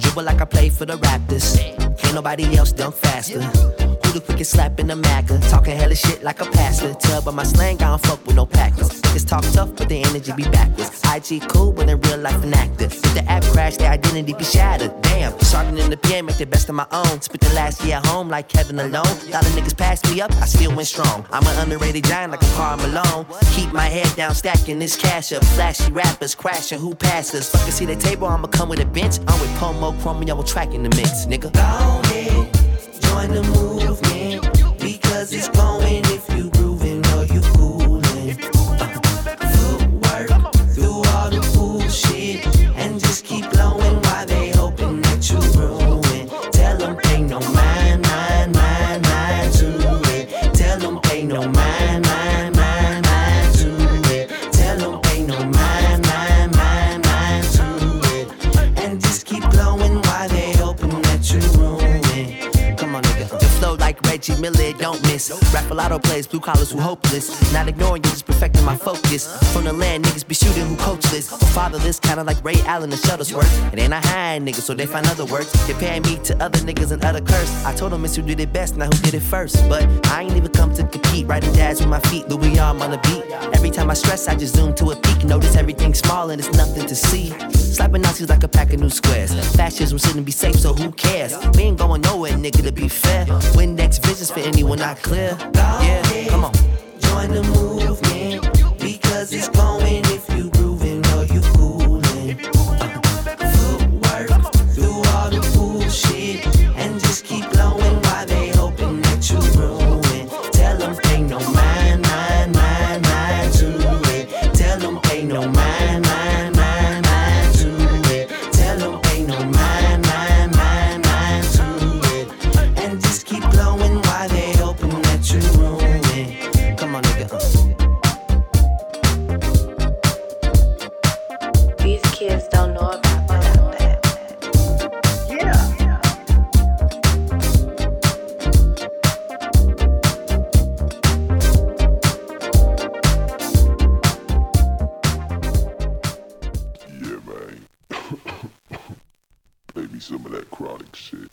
Dribble like I play for the Raptors. Can't nobody else dunk faster. Who the quickest slap in the Maca? Talking hella shit like a pastor. Tell by my slang, I don't fuck with no Packers. Niggas talk tough, but the energy be backwards. I G cool, but in real life an actor. If the app crash, their identity be shattered. Damn, sharpening the pen, make the best of my own. Spent the last year at home like Kevin alone. A lot of niggas passed me up, I still went strong. I'm an underrated giant like a Karl Malone. Keep my head down, stacking this cash up. Flashy rappers crashing, who passed us? Fucking see the table, I'ma come with a bench. I'm with Pomo, Chrome, y'all track in the mix, nigga. Go ahead, join the movement, because it's going if you grooving or you coolin'. Footwork through all the bullshit, and just keep blowing while they hoping that you ruin. Tell them pay no mind, mind, mind, mind to it. Tell them pay no mind, mind, mind, mind to it. Tell them pay no mind, mind, mind, mind to it. And just keep blowing while they hoping that you ruin. Come on, nigga. The flow like Reggie Miller, don't miss. Rap a lotto plays, blue collars who hopeless. Not ignoring you, just perfecting my focus. From the land, niggas be shooting who coachless. Or fatherless, kinda like Ray Allen and Shuttlesworth. It ain't a high nigga, so they find other words. Comparing me to other niggas and other curse. I told them it's who did it best, not who did it first. But I ain't even come to compete. Writing jazz with my feet, Louis arm on the beat. Every time I stress, I just zoom to a peak. Notice everything small and it's nothing to see. Slapping Nazis like a pack of new squares. Fascism shouldn't be safe, so who cares? We ain't going nowhere, nigga, to be fair. When next visions for anyone not clear. Yeah, come on. Join the movement, because it's going if you grooving or you coolin'. Footwork through all the bullshit, and just keep blowing while they hoping that you ruin. Tell them pay no mind, mind, mind, mind to it. Tell them pay no mind, mind, mind, mind to it. Tell them pay no mind, mind, mind, mind to it. And just keep blowing while they hoping that you ruin. Come on, nigga. These kids don't know about that. Yeah, man. Maybe some of that chronic shit.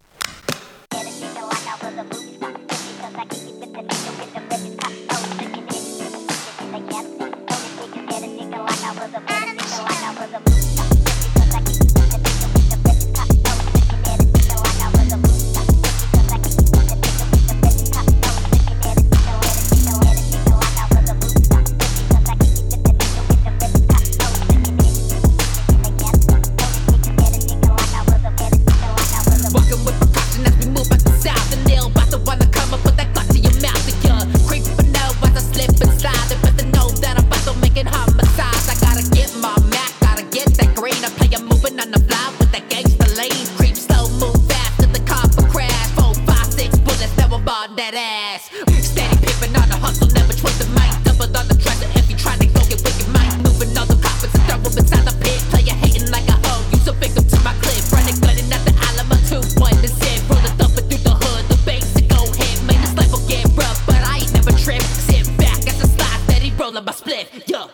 Walking with precaution as we move back to south, and they'll about to wanna come up, put that gun to your mouth. And you're creeping out as I slip and slide. They better know that I'm about to make it homicide. I gotta get my Mac, gotta get that green. I play a moving on the fly with that gangsta lane. Creep slow, move fast to the car for crash. Four, five, six bullets, never on that ass. Steady pimping on the hustle, never trust the mic. Double on the treasure if you tryna go get wicked mic. Moving all the coppers and throw them inside the pit. Player hating like a hoe, you so victim to my clip. Running, gunning at the Alamo two one to zip. Rolling thumping through the hood, the basic go ahead. Man, this life will get rough, but I ain't never tripped. Sit back as I slide, steady rolling my split. Yo.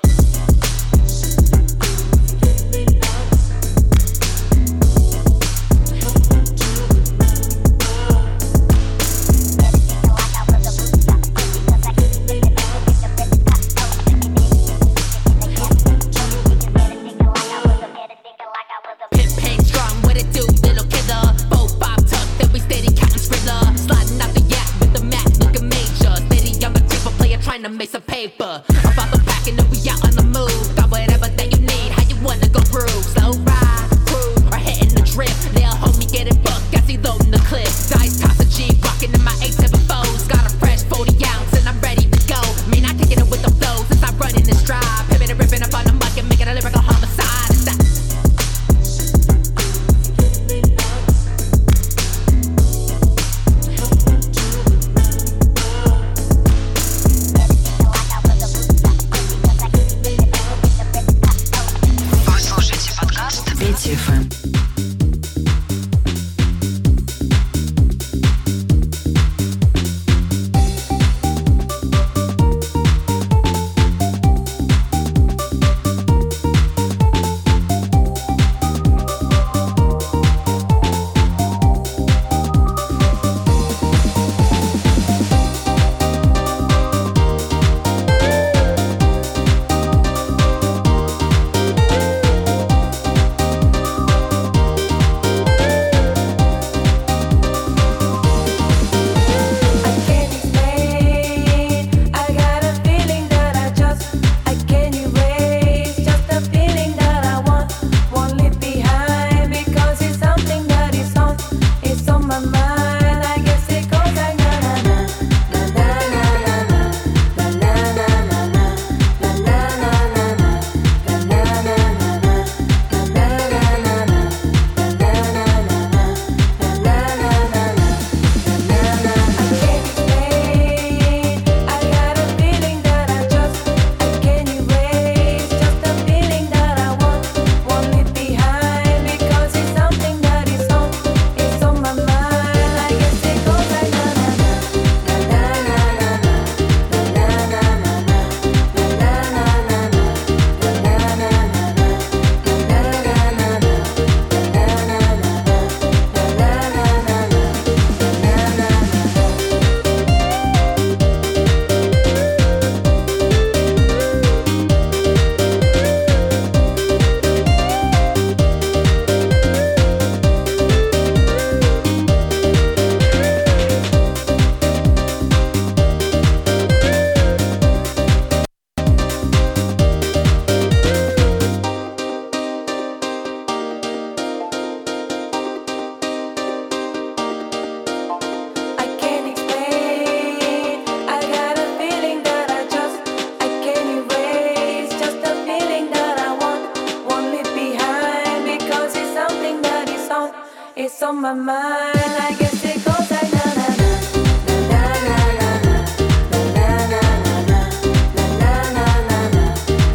on my mind. I guess it goes like na na na na na na na na na na na na na na.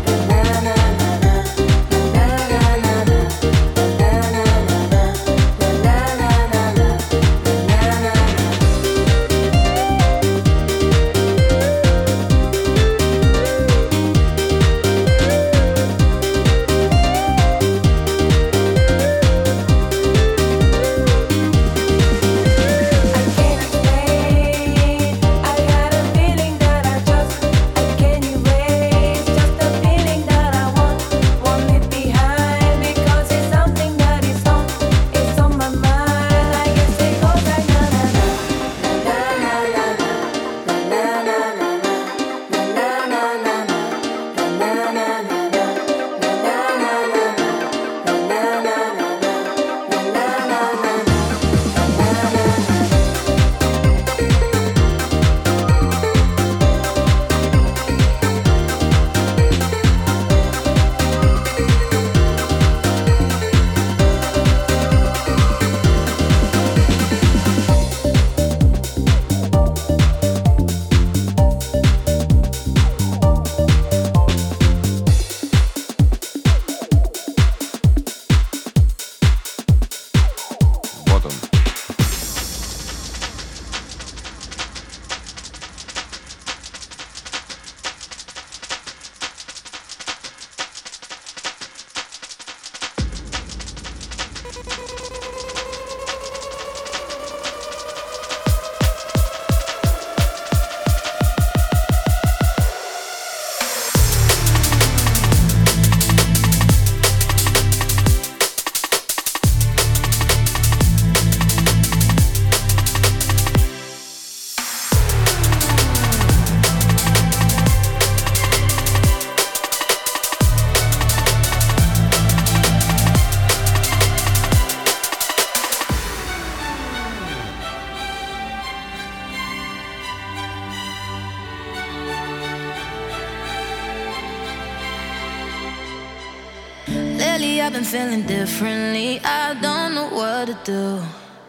I've been feeling differently, I don't know what to do.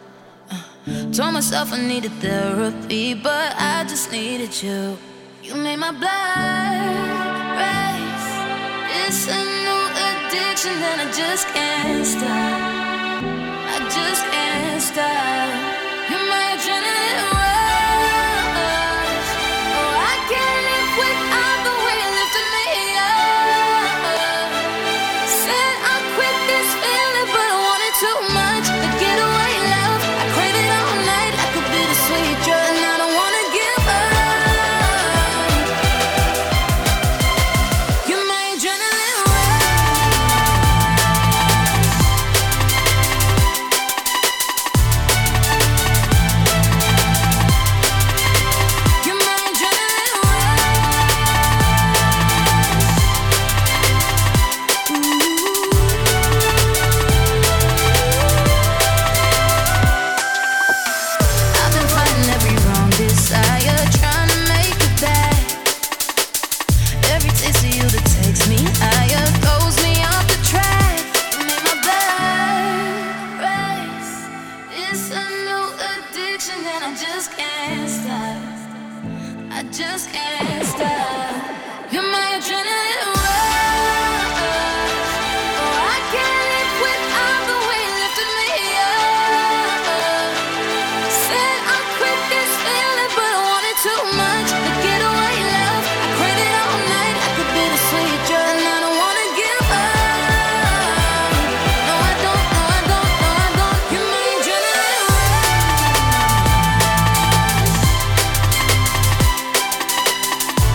uh, Told myself I needed therapy, but I just needed you. You made my blood race. It's a new addiction and I just can't stop. I just can't stop. You're my adrenaline rush. Oh, I can't live without the way you lifted me up. Said I'll quit this feeling, but I want it too much. The getaway love, I crave it all night. I could be the sweet drug, and I don't wanna give up. You're my adrenaline rush.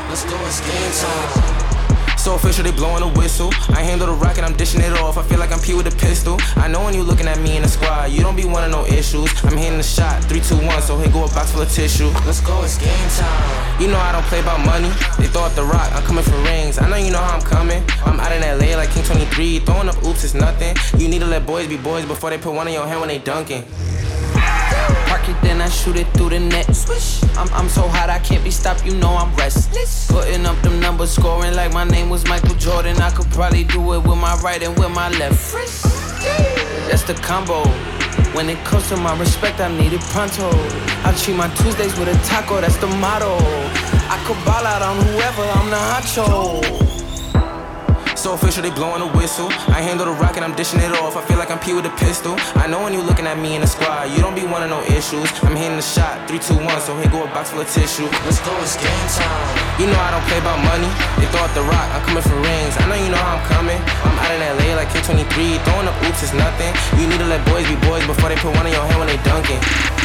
Let's do it, skin time. So official, they blowing a whistle. I handle the rocket, I'm dishing it off. I feel like I'm P with a pistol. I know when you looking at me in the squad, you don't be wanting no issues. I'm hitting the shot, three, two, one, so here go a box full of tissue. Let's go, it's game time. You know I don't play about money. They throw up the rock, I'm coming for rings. I know you know how I'm coming. I'm out in L A like King twenty-three. Throwing up oops is nothing. You need to let boys be boys before they put one in your hand when they dunking. Park it, then I shoot it through the net. Swish. I'm, I'm so hot, I can't be stopped, you know I'm restless. Putting up them numbers, scoring like my name was Michael Jordan. I could probably do it with my right and with my left. That's the combo. When it comes to my respect, I need it pronto. I treat my Tuesdays with a taco, that's the motto. I could ball out on whoever, I'm the honcho. So official, they blowing a whistle. I handle the rocket, I'm dishing it off. I feel like I'm P with a pistol. I know when you looking at me in the squad, you don't be wanting no issues. I'm hitting the shot, three, two, one, so here go a box full of tissue. Let's go, it's game time. You know I don't play about money. They throw up the rock, I'm coming for rings. I know you know how I'm coming. I'm out in L A like King twenty-three. Throwing up oops is nothing. You need to let boys be boys before they put one in your hand when they dunking.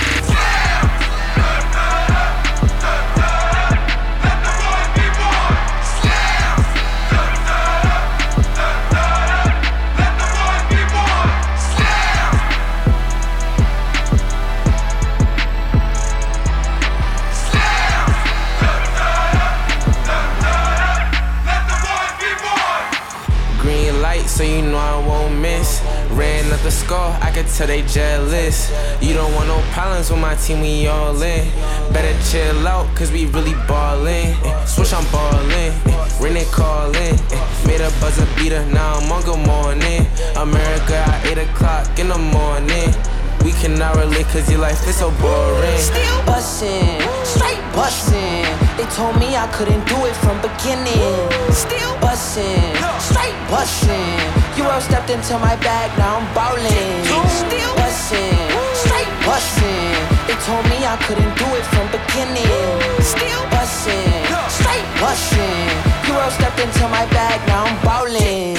So you know I won't miss. Ran up the score, I can tell they jealous. You don't want no problems with my team, we all in. Better chill out, cause we really ballin'. Switch, I'm ballin'. Ring it, callin'. Made a buzzer beater, now I'm on good morning. America at eight o'clock in the morning. We cannot relate cause your life is so boring. Still bussin', straight bussin'. They told me I couldn't do it from beginning. Still bussin', straight bussin'. You all stepped into my bag, now I'm ballin'. Still bussin', straight bussin'. They told me I couldn't do it from beginning. Still bussin', straight bussin'. You all stepped into my bag, now I'm ballin'.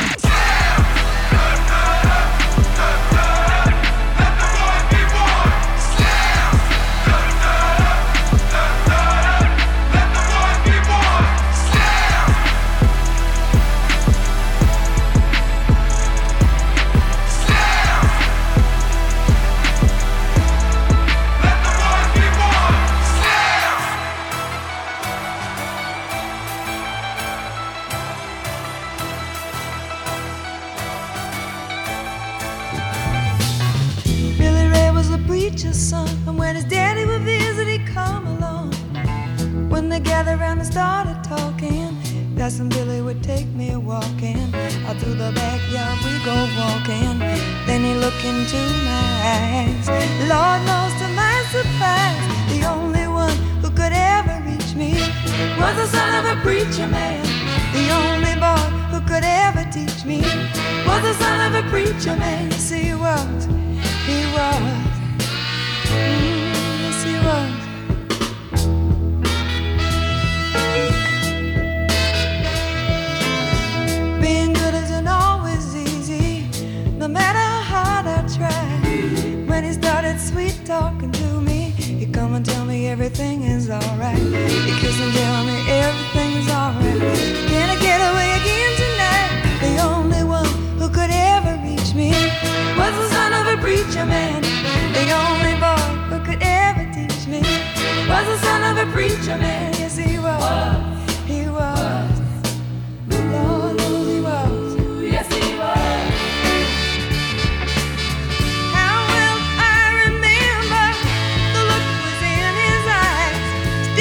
Son. And when his daddy would visit, he'd come along. When they gathered around and started talking, that's when Billy would take me walking. Out through the backyard we go walking. Then he looked into my eyes. Lord knows to my surprise, the only one who could ever reach me was the son of a preacher man. The only boy who could ever teach me was the son of a preacher man. Yes, he was, he was. Mm, yes, he was. Being good isn't always easy, no matter how hard I try. When he started sweet talking to me, he'd come and tell me everything is alright. He'd kiss and tell me everything is alright. Can I get away again tonight? The only one who could ever reach me was the son of a preacher man. The only boy who could ever teach me was the son of a preacher man. Yes, he was. He was. Lord knows he was. Yes, he was. How well I remember the look was in his eyes.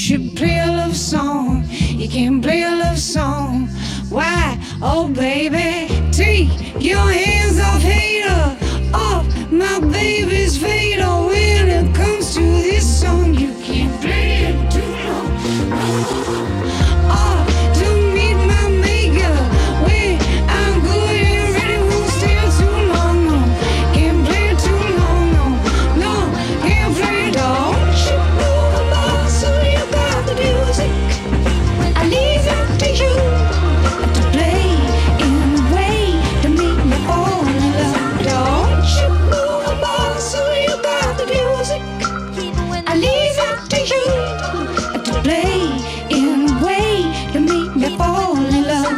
should play a love song. You can't play a love song. Why? Oh baby, take your hands off hater, off my baby's fader. When it comes to this song, you can't play it too long. Oh, to meet my maker, when I'm good and ready, won't stay too long. No, can't play it too long. No, no, can't play it all. You know about, so you got the music. I leave it to you to play in a way to make me fall in love. Don't you know about, so you got the music. I leave it to you to play in a way to make me fall in love.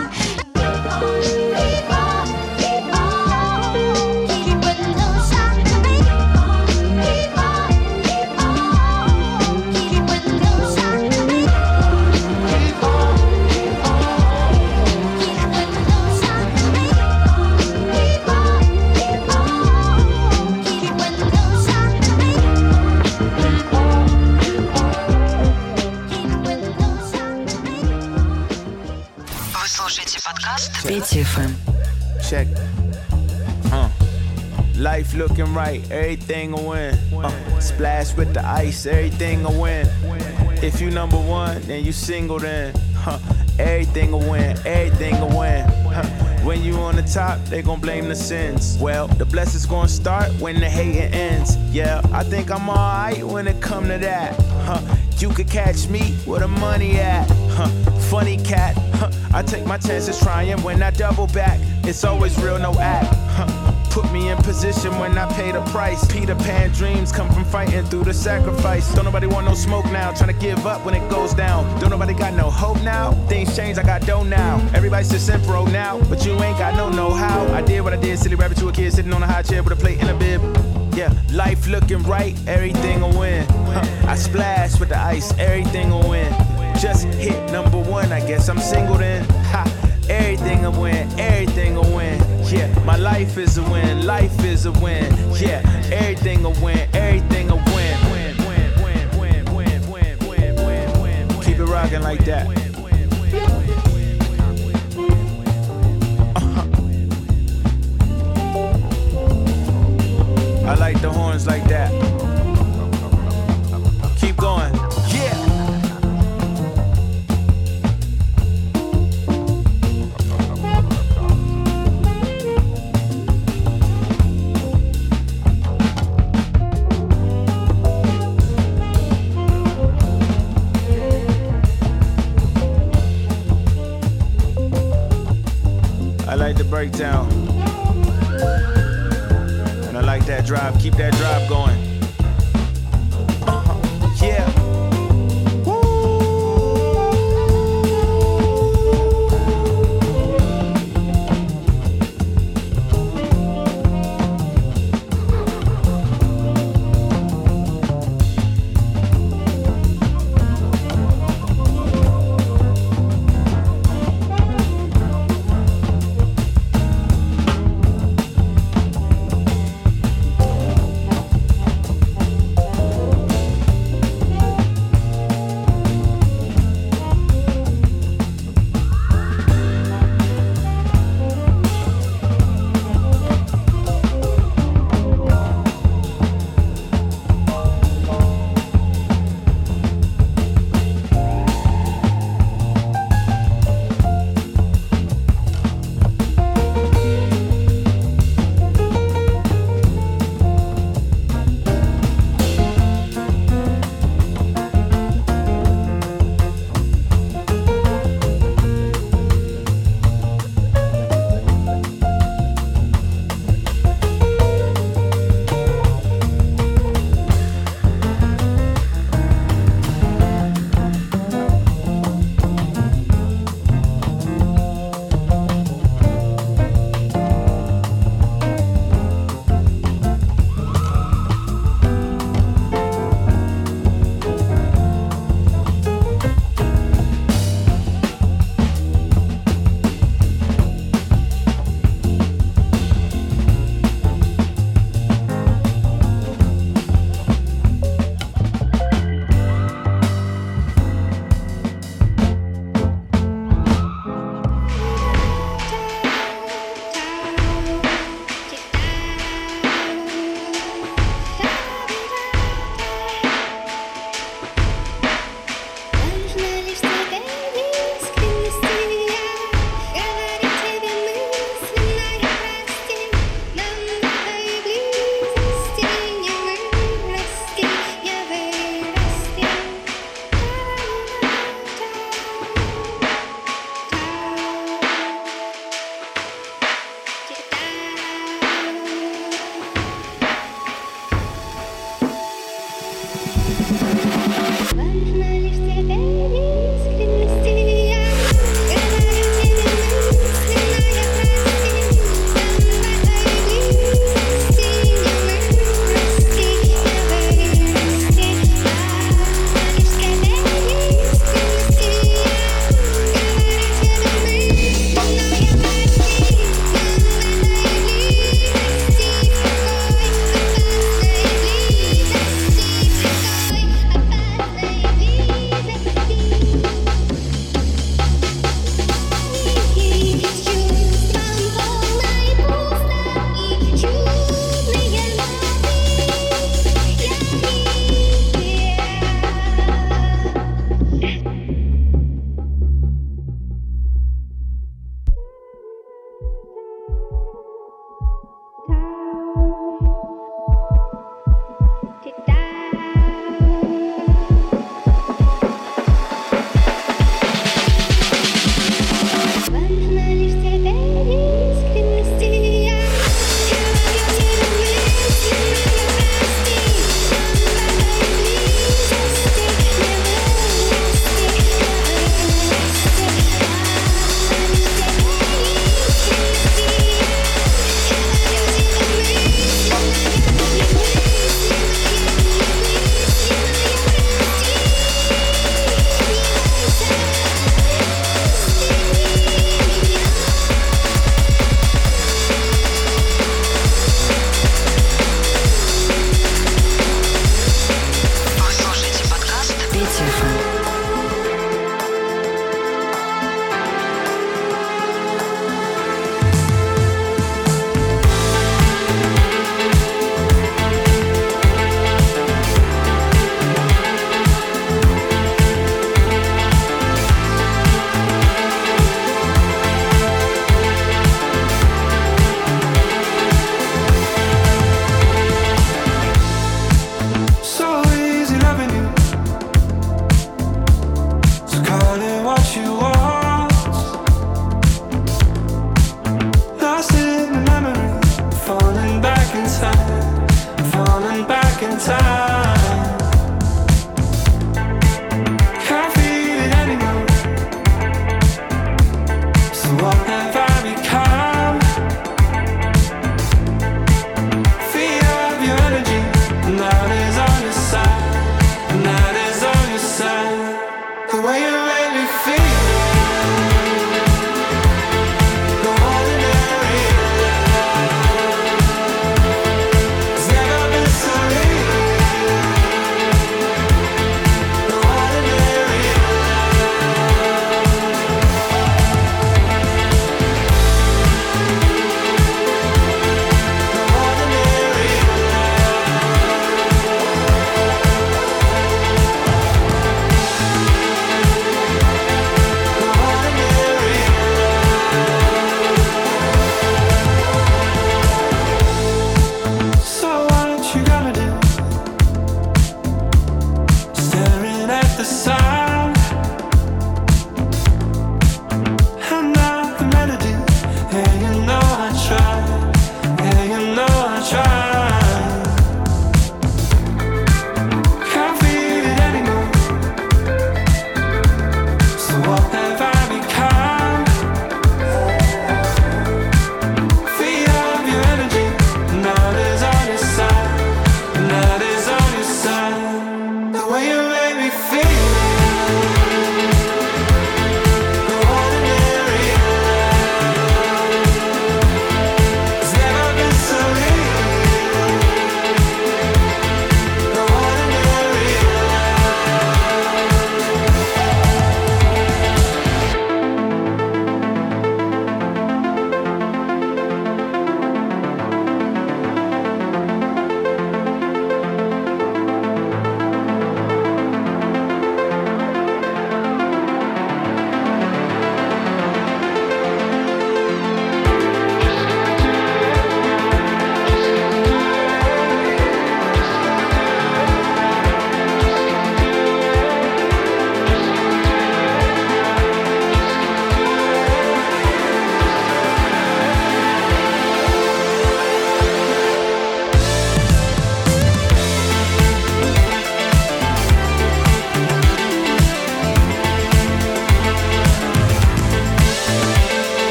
Вы слушаете подкаст Петя эф эм. Check. Uh. Life looking right, everything will win. Uh. Splash with the ice, everything will win. If you number one, then you single then. Huh. Everything will win, everything will win. Huh. When you on the top, they gon' blame the sins. Well, the blessings gon' start when the hating ends. Yeah, I think I'm alright when it come to that. Huh. You could catch me where the money at. Huh. Funny cat. Huh. I take my chances trying when I double back. It's always real, no act. Huh. Put me in position when I pay the price. Peter Pan dreams come from fighting through the sacrifice. Don't nobody want no smoke now, trying to give up when it goes down. Don't nobody got no hope now. Things change, I got dough now. Everybody's just pro now, but you ain't got no know-how. I did what I did, silly rabbit to a kid sitting on a high chair with a plate and a bib. Yeah, life looking right, everything will win. Huh. I splash with the ice, everything will win. Just hit number one, I guess I'm single then. Ha, everything will win, everything will win. Yeah, my life is a win, life is a win. Yeah, everything will win, everything will win. Keep it rocking like that. Uh-huh. I like the horns like that. Keep going. Yeah. I like the breakdown. And I like that drive. Keep that drive going. Uh-huh. Yeah.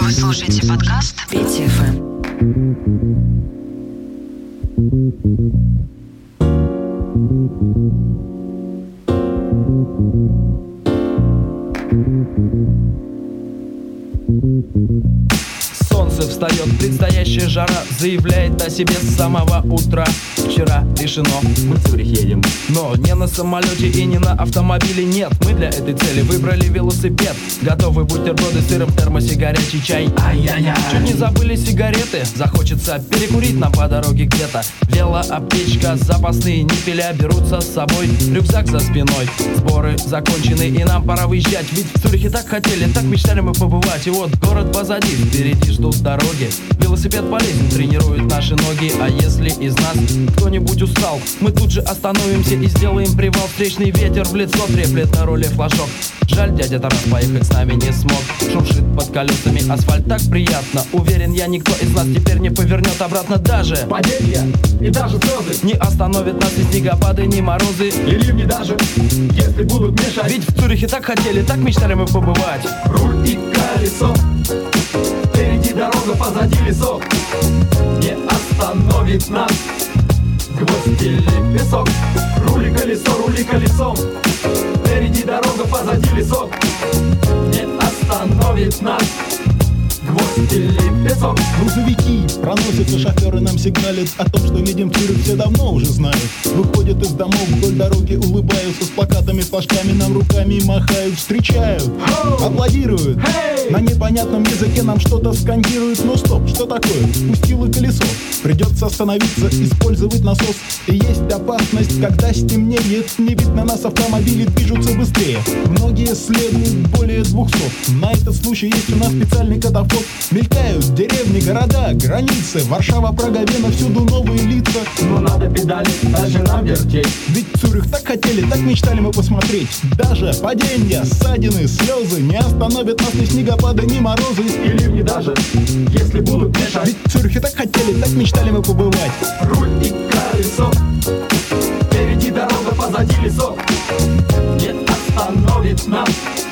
Вы слушаете подкаст Петя эф эм. Солнце встает, предстоящая жара заявляет о себе с самого утра. Вчера решено, мы в Цюрих едем, но не на самолете и не на автомобиле, нет. Мы для этой цели выбрали велосипед. Готовы бутерброды с сыром, в термосе горячий чай. Ай-яй-яй. Чуть не забыли сигареты, захочется перекурить нам по дороге где-то. Велоаптечка, запасные нифеля берутся с собой, рюкзак за спиной. Сборы закончены и нам пора выезжать, ведь в Цюрихе так хотели, так мечтали мы побывать. И вот город позади, впереди ждут дороги. Велосипед полезен, тренирует наши ноги. А если из нас кто-нибудь устал, мы тут же остановимся и сделаем привал. Встречный ветер в лицо треплет на руле флажок. Жаль, дядя Тарас поехать с нами не смог. Шуршит под колесами асфальт так приятно. Уверен я, никто из нас теперь не повернет обратно. Даже падения и даже слезы не остановят нас ни снегопады, ни морозы и ливни даже, если будут мешать. Ведь в Цюрихе так хотели, так мечтали мы побывать. Руль и колесо, впереди дорога, позади лесок. Не остановит нас гвоздь или песок. Рули колесо, рули колесом, впереди дорога, позади лесок. Не остановит нас гвоздь или песок. Грузовики проносятся, шоферы нам сигналят о том, что едем в Цюрих, все давно уже знают. Выходят из домов вдоль дороги, улыбаются, с плакатами, флажками нам руками махают, встречают, oh! Аплодируют, hey! На непонятном языке нам что-то скандируют. Но стоп, что такое? Пустило колесо, придется остановиться, использовать насос. И есть опасность, когда стемнеет, не видно нас, автомобили движутся быстрее. Многие следуют более двухсот. На этот случай есть у нас специальный катафот. Мелькают деревни, города, границы, Варшава, Прага, Вена, всюду новые лица. Но надо педали, дальше нам вертеть. Ведь Цюрих так хотели, так мечтали мы посмотреть. Даже падения, ссадины, слезы не остановят нас ни снегопады, ни морозы и ливни даже, если будут мешать. Ведь в Цюрихе так хотели, так мечтали мы побывать. Руль и колесо, впереди дорога, позади лесок. Не остановит нас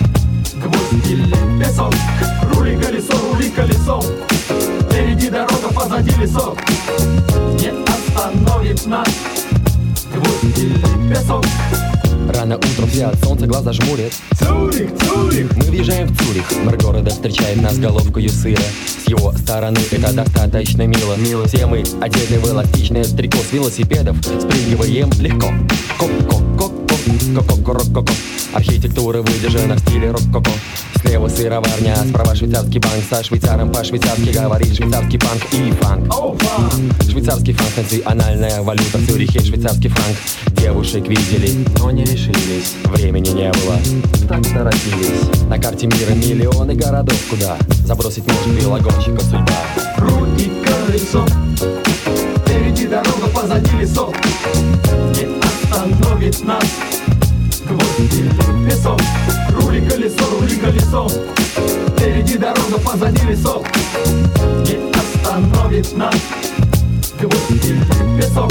гвоздь или песок. Рули колесо, рули колесом, впереди дорога, позади лесок. Не остановит нас гвоздь или песок. Рано утром все от солнца глаза жмурят. Цюрих, Цюрих! Мы въезжаем в Цюрих. Мэр города встречает нас головкою сыра. С его стороны это достаточно мило. Мило. Все мы одеты в эластичное трико с велосипедов. Спрыгиваем легко. Ко-ко-ко-ко-ко-ко-ко-ко-ко. Архитектура выдержана в стиле рок-ко-ко. Слева сыроварня, справа швейцарский банк. Со швейцаром по-швейцарски говорит швейцарский панк и фанк. Oh, фанк. Швейцарский франк, национальная валюта в Цюрихе, швейцарский франк. Девушек видели, но не решились. Времени не было, так торопились. На карте мира миллионы городов, куда забросить может велогонщика судьба. Руль и колесо, впереди дорога, позади лесок. Не остановит нас гвоздь или песок. Рули колесо, рули колесом, впереди дорога, позади лесок. Не остановит нас гвоздь или песок.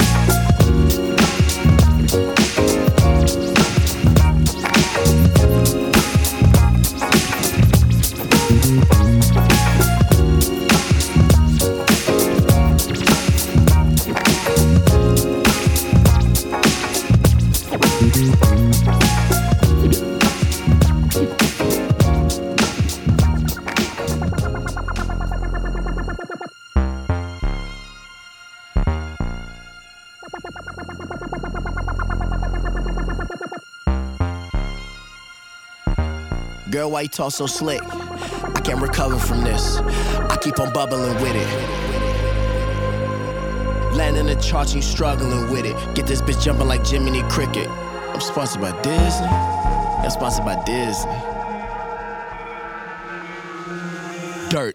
Girl, why you talk so slick? I can't recover from this. I keep on bubbling with it. Landing the charts, you struggling with it. Get this bitch jumping like Jiminy Cricket. I'm sponsored by Disney. I'm sponsored by Disney. Dirt.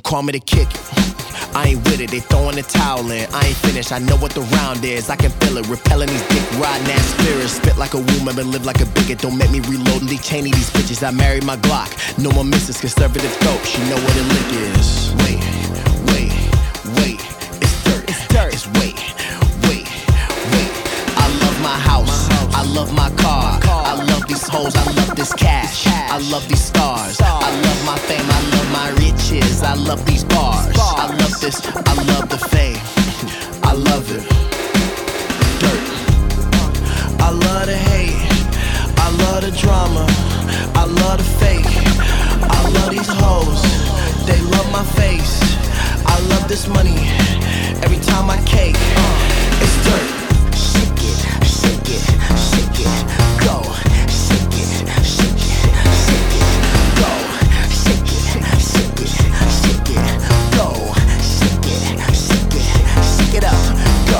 call me to kick it. I ain't with it, they throwing the towel in. I ain't finished, I know what the round is. I can feel it, repelling these dick riding ass spirits. Spit like a woman, but live like a bigot. Don't make me reload and de-chaining these bitches. I married my Glock. No more misses, conservative dope. She know what a lick is. Wait, wait, wait. It's dirt, it's dirt. It's wait, wait, wait. I love my house, I love my car. I love these hoes, I love this cash. I love these stars, I love my fame, I love my riches. I love these bars, I love this, I love the fame. I love it. Dirt. I love the hate, I love the drama, I love the fake. I love these hoes, they love my face. I love this money, every time I cake. It's dirt. Shake it, shake it, shake it, go. Shake it, shake it, shake it, go. Shake it, shake it, shake it, go. Shake it, shake it, shake it up, go.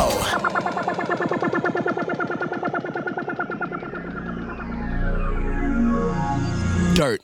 Dirt.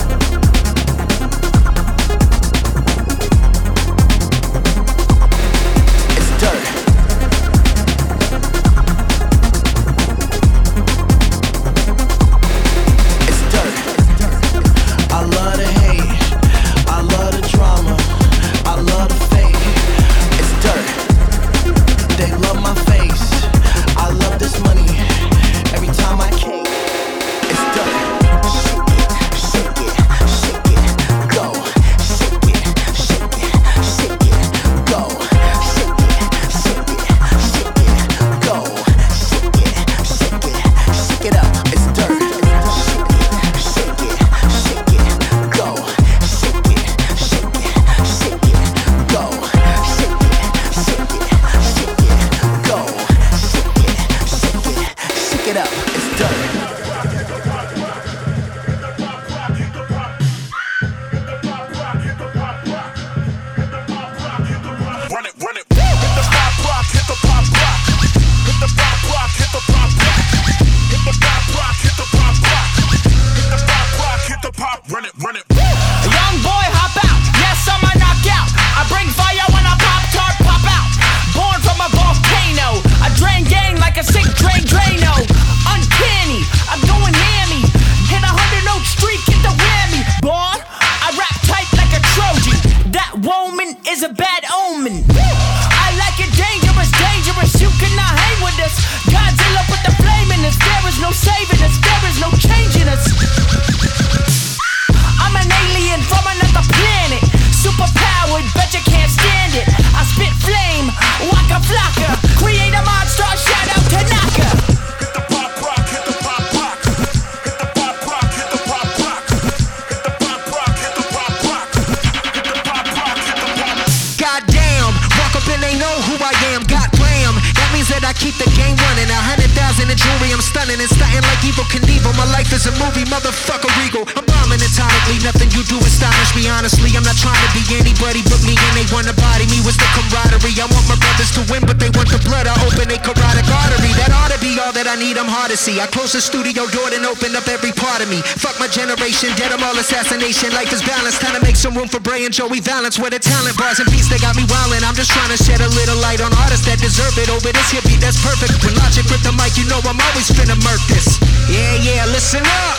I close the studio door and open up every part of me. Fuck my generation, dead them all assassination. Life is balanced, time to make some room for Bray and Joey Valance. Where the talent bars and beats, they got me wildin'. I'm just trying to shed a little light on artists that deserve it. Over this here beat that's perfect. When Logic grip the mic, you know I'm always finna murk this. Yeah, yeah, listen up.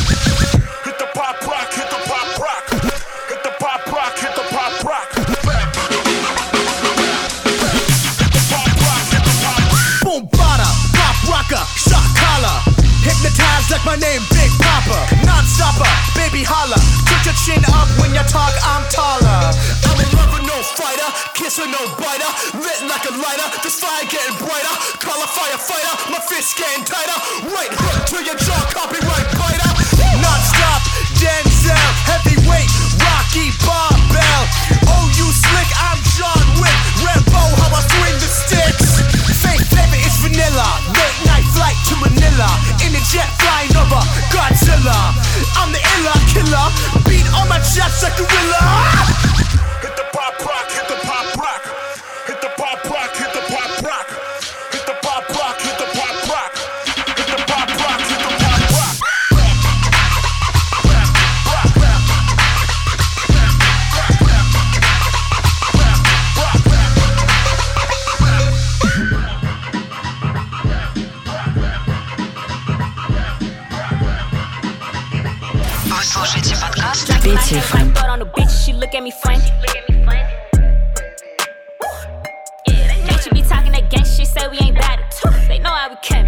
Hit the pop rock, hit the pop rock. Hit the pop rock, hit the pop rock. Boom, bada, pop rocker, shock collar. Hypnotized like my name, Big Papa. Non-stopper, baby holla. Put your chin up when you talk, I'm taller. I'm a lover, no fighter. Kisser, no biter. Lit like a lighter. This fire getting brighter. Call a firefighter. My fist getting tighter. Right hook to your jaw, copyright biter. Non-stop, Denzel. Heavyweight, Rocky Barbell. Oh, you slick, I'm John Wick. Rambo, how I swing the sticks. Fake flavor is vanilla. Late night flight to Manila. In the jet flying over Godzilla. I'm the illa killer. Beat on my chest like gorilla. Hit the pop rock, hit the pop rock. Hit the pop rock, hit the pop rock. Hit the pop rock, hit the pop rock. Hit the pop rock, hit the pop rock. Петя эф эм. Bitch, be talking that gang shit, say we ain't bad at two. They know how we came.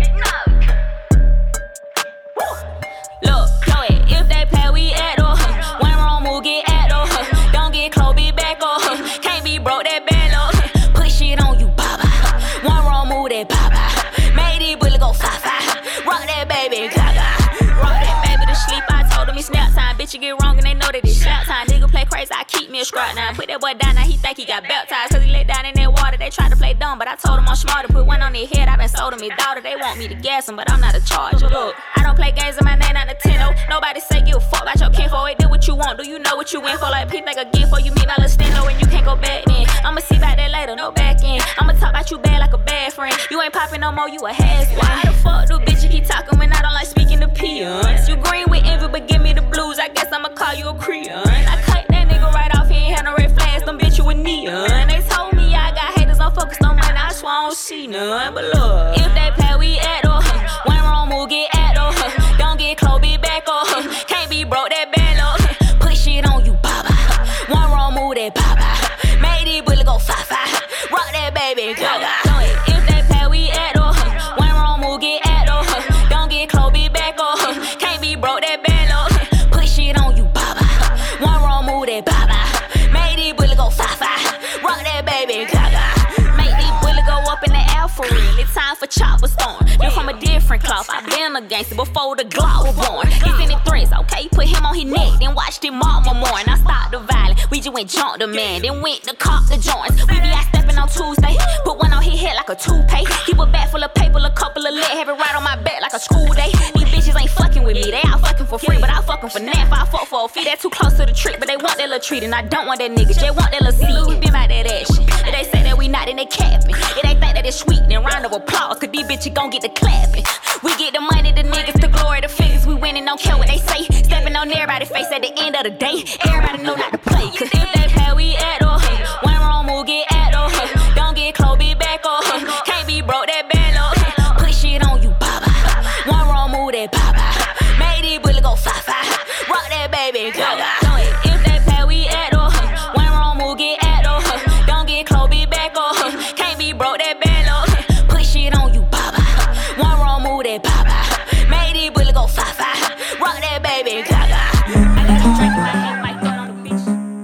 Look, go ahead, if they play, we at or one wrong move, get at or don't get close, be back or can't be broke, that bad low. Put shit on you, baba. One wrong move, that baba. Made it bullet go fa fa. Rock that baby, gaga. Rock that baby to sleep. I told him it's snap time. Bitch, you get wrong and they know that it's snap time. Nigga play crazy, I keep me a scrap now. Put that boy down, now he think he got baptized. Cause he let down in that water. They tried to play dumb, but I told him I'm smarter. Put one on their head, I been sold them his daughter. They want me to gas him, but I'm not a charger. Look, I don't play games in my name, not Nintendo. Nobody say give a fuck about your kinfolk. It do what you want. Do you know what you in for? Like, people like again before you meet my little stendo and you can't go back then. I'ma see about that later, no back end. I'ma talk about you bad like a bad friend. You ain't popping no more, you a has-been. Why the fuck do bitch you keep talking when I don't like speaking to peons? You green with envy, but give me the blues. I guess I'ma call you a Creon. I cut that nigga right off, he ain't had no red flags. Them bitch you a neon. They told me I got haters, I'm focused on money. I swear I don't see none. But look, if they play, we at or one wrong move, get at or don't get close, be back or can't be broke, that bad low. Put shit on you, baba. One wrong move, that baba. Made it bullet go fa fa. Rock that baby, gaga. If they play, we at or one wrong move, get at or don't get close, be back or can't be broke, that bad low. Put shit on you, baba. One wrong move, that baba. Made it bullet go fa fa. Rock that baby, gaga. Make these bullet go up in the air for real. It's time for chopper storm. You're from a different cloth. I been a gangster before the Glock was born. He's in the threats, okay? Put him on his neck, then watched him mama more. And I stopped the violence. We just went jump the man, then went to cop the joints. We be out stepping on Tuesday. Put one on his head like a toupee. Keep a bag full of paper, a couple of lead. Have it right on my back like a school day. These bitches ain't fucking with me. They out fucking for free, but I fucking for nothing. If I fuck for a fee, that too close to the trick. But they want that little treat, and I don't want that nigga. They want that little seed. We been by that action. If they say that we not, then they capping. If they think that it's sweet, then round of applause. Cause these bitches gon' get the clapping. We get the money, the niggas, the glory, the figures. We winning, don't care what they say. Stepping on everybody's face at the end of the day. Everybody know not to play. Cause if they play, we at or one wrong move, get at or don't get close, be back or can't be broke, that bad low. Put shit on you, baba. One wrong move, that baba. Made it bullet go fa fa. Rock that baby, gaga. If they play, we at or one wrong move, get at or don't get close, be back or can't be broke, that bad low. Put shit on you, baba. One wrong move, that baba. Made it bullet go fa fa. Rock that baby, gaga. I got a drink in my hand, might go on the beach.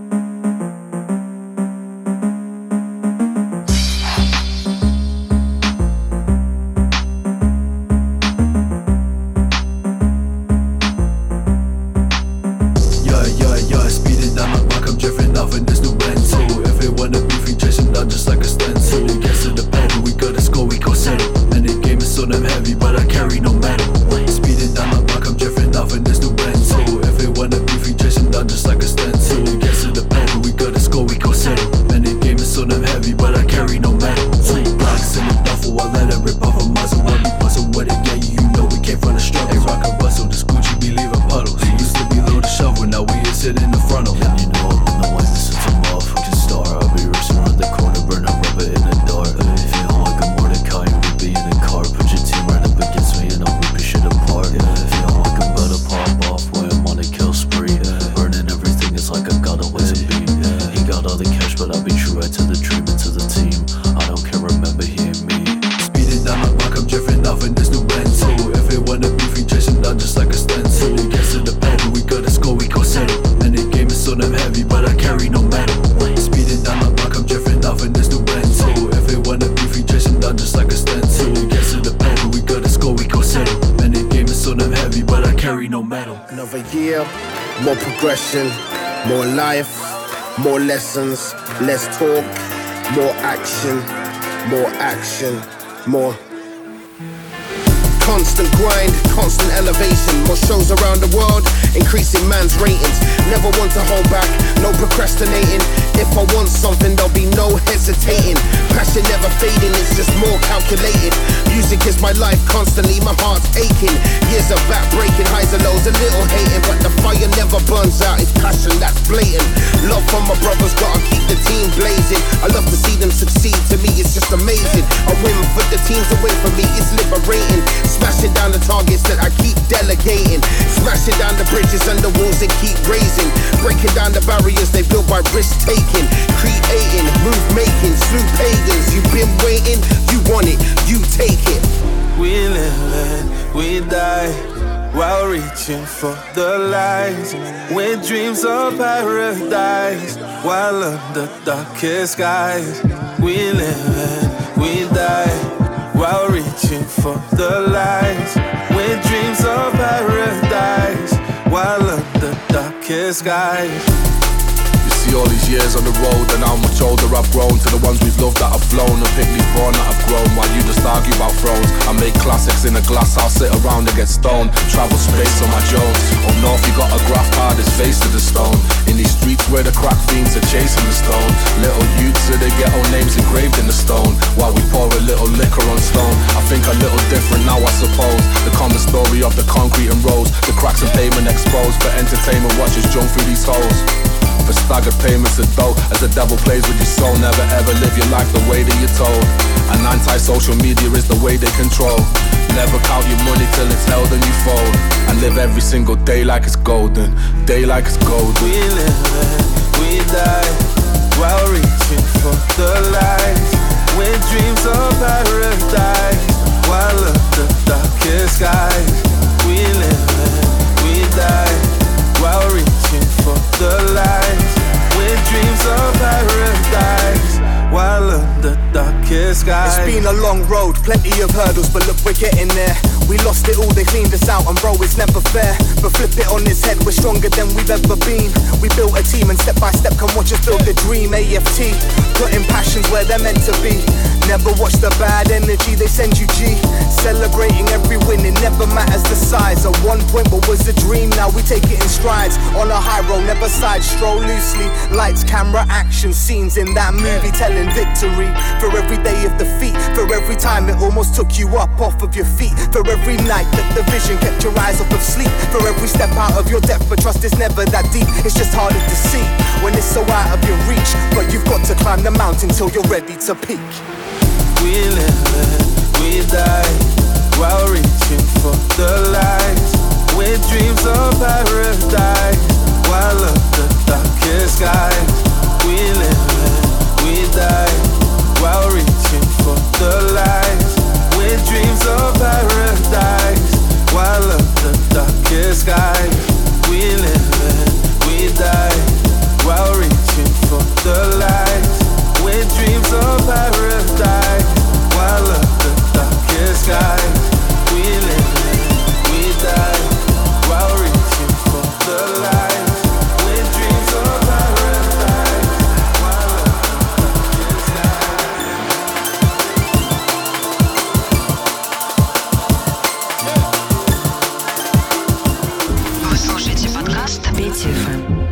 Yeah, yeah, yeah, speeding down my back, I'm drifting off in this new Bento. If they wanna beef, we chase them down just like a stencil. It gets to the pedal, we gotta score, we go settle. And the game is so damn heavy, but I carry no metal. Speeding down my back, I'm drifting off in this new Bento. If they wanna beef, we chase them down just like a stencil. It gets to the pedal, we gotta score, we go settle. And the game is so damn heavy, but I carry no metal. Two blocks in the duffel, I let it rip off a muzzle. When we bustle with it, yeah, you know we came from the struggle. Hey, rock and bustle, this Gucci be leaving puddles. He used to be low to shovel, now we is sitting in the frontal. And you know I'm in the one, this is a motherfucking star. I'll be racing around the corner, burn a rubber in the door. Feeling like a Mordecai, we'll be in the car. Put your team right up against me and I'll rip your shit apart. Feeling like I'm about to pop off when I'm on a kill spree. Burning everything, it's like I got a way to be. He got all the cash, but I'll be true right to the dream and to the team. I don't care, remember he and me. Speeding down my back, I'm drifting off in this new Bento. If they wanna beef, we chase them down just like a stencil. It gets to the pedal, we gotta score, we go settle. And the game is so damn heavy, but I carry no metal. Speeding down my back, I'm drifting off in this new Bento. If they wanna beef, we chase them down just like a stencil. It gets to the pedal, we gotta score, we go settle. And the game is so damn heavy, but I carry no metal. Another year, more progression, more life, more lessons, less talk, more action, more action, more. Constant grind, constant elevation. More shows around the world, increasing man's ratings. Never want to hold back, no procrastinating. If I want something, there'll be no hesitating. Passion never fading, it's just more calculated. Music is my life constantly, my heart's aching. Years of back breaking, highs and lows, a little hating. But the fire never burns out, it's passion that's blatant. Love from my brothers, gotta keep the team blazing. I love to see them succeed, to me it's just amazing. I win for the teams, away from me, it's liberating. Smashing down the targets that I keep delegating. Smashing down the bridges and the walls they keep raising. Breaking down the barriers they built by risk taking. Creating, move making, slew pagans. You've been waiting, you want it, you take it. We live and we die while reaching for the lights, with dreams of paradise while under darkest skies. We live and we die while reaching for the lights, with dreams of paradise while under darkest skies. See all these years on the road and how much older I've grown. To the ones we've loved that have flown and picnic born that have grown. While you just argue about thrones, I make classics in a glass house, sit around and get stoned. Travel space on my Jones. Up north you got a graft hard as face to the stone. In these streets where the crack fiends are chasing the stone. Little youths with their ghetto names engraved in the stone. While we pour a little liquor on stone. I think a little different now I suppose. The common story of the concrete and roads. The cracks and pavement exposed. For entertainment watchers jump through these holes. For staggered payments of dough, as the devil plays with your soul. Never ever live your life the way that you're told. And anti-social media is the way they control. Never count your money till it's held and you fold. And live every single day like it's golden. Day like it's golden. We live and we die while reaching for the light, with dreams of paradise while under darkest skies. We live and we die while reaching for the light, with dreams of paradise while under darkest skies. It's been a long road, plenty of hurdles, but look, we're getting there. We lost it all, they cleaned us out, and bro, it's never fair. But flip it on its head, we're stronger than we've ever been. We built a team, and step by step, come watch us build the dream. A F T, putting passions where they're meant to be. Never watch the bad energy, they send you G. Celebrating every win, it never matters the size. At one point, what was a dream, now we take it in strides. On a high road, never side, stroll loosely. Lights, camera, action, scenes in that movie, telling victory. For every day of defeat, for every time it almost took you up off of your feet. For every night that the vision kept your eyes off of sleep. For every step out of your depth, but trust is never that deep. It's just harder to see when it's so out of your reach. But you've got to climb the mountain till you're ready to peak. We live and we die while reaching for the light, with dreams of paradise while under darkest skies. We live and we die while reaching for the light, with dreams of paradise while under darkest skies. We live and we die while reaching for the light, with dreams of paradise while under darkest skies. We live and we die while reaching for the light, with dreams of paradise while under darkest skies. Вы слушаете подкаст Петя эф эм.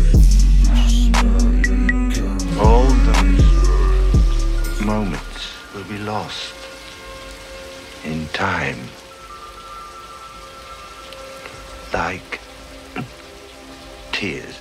moments will be lost in time, like tears.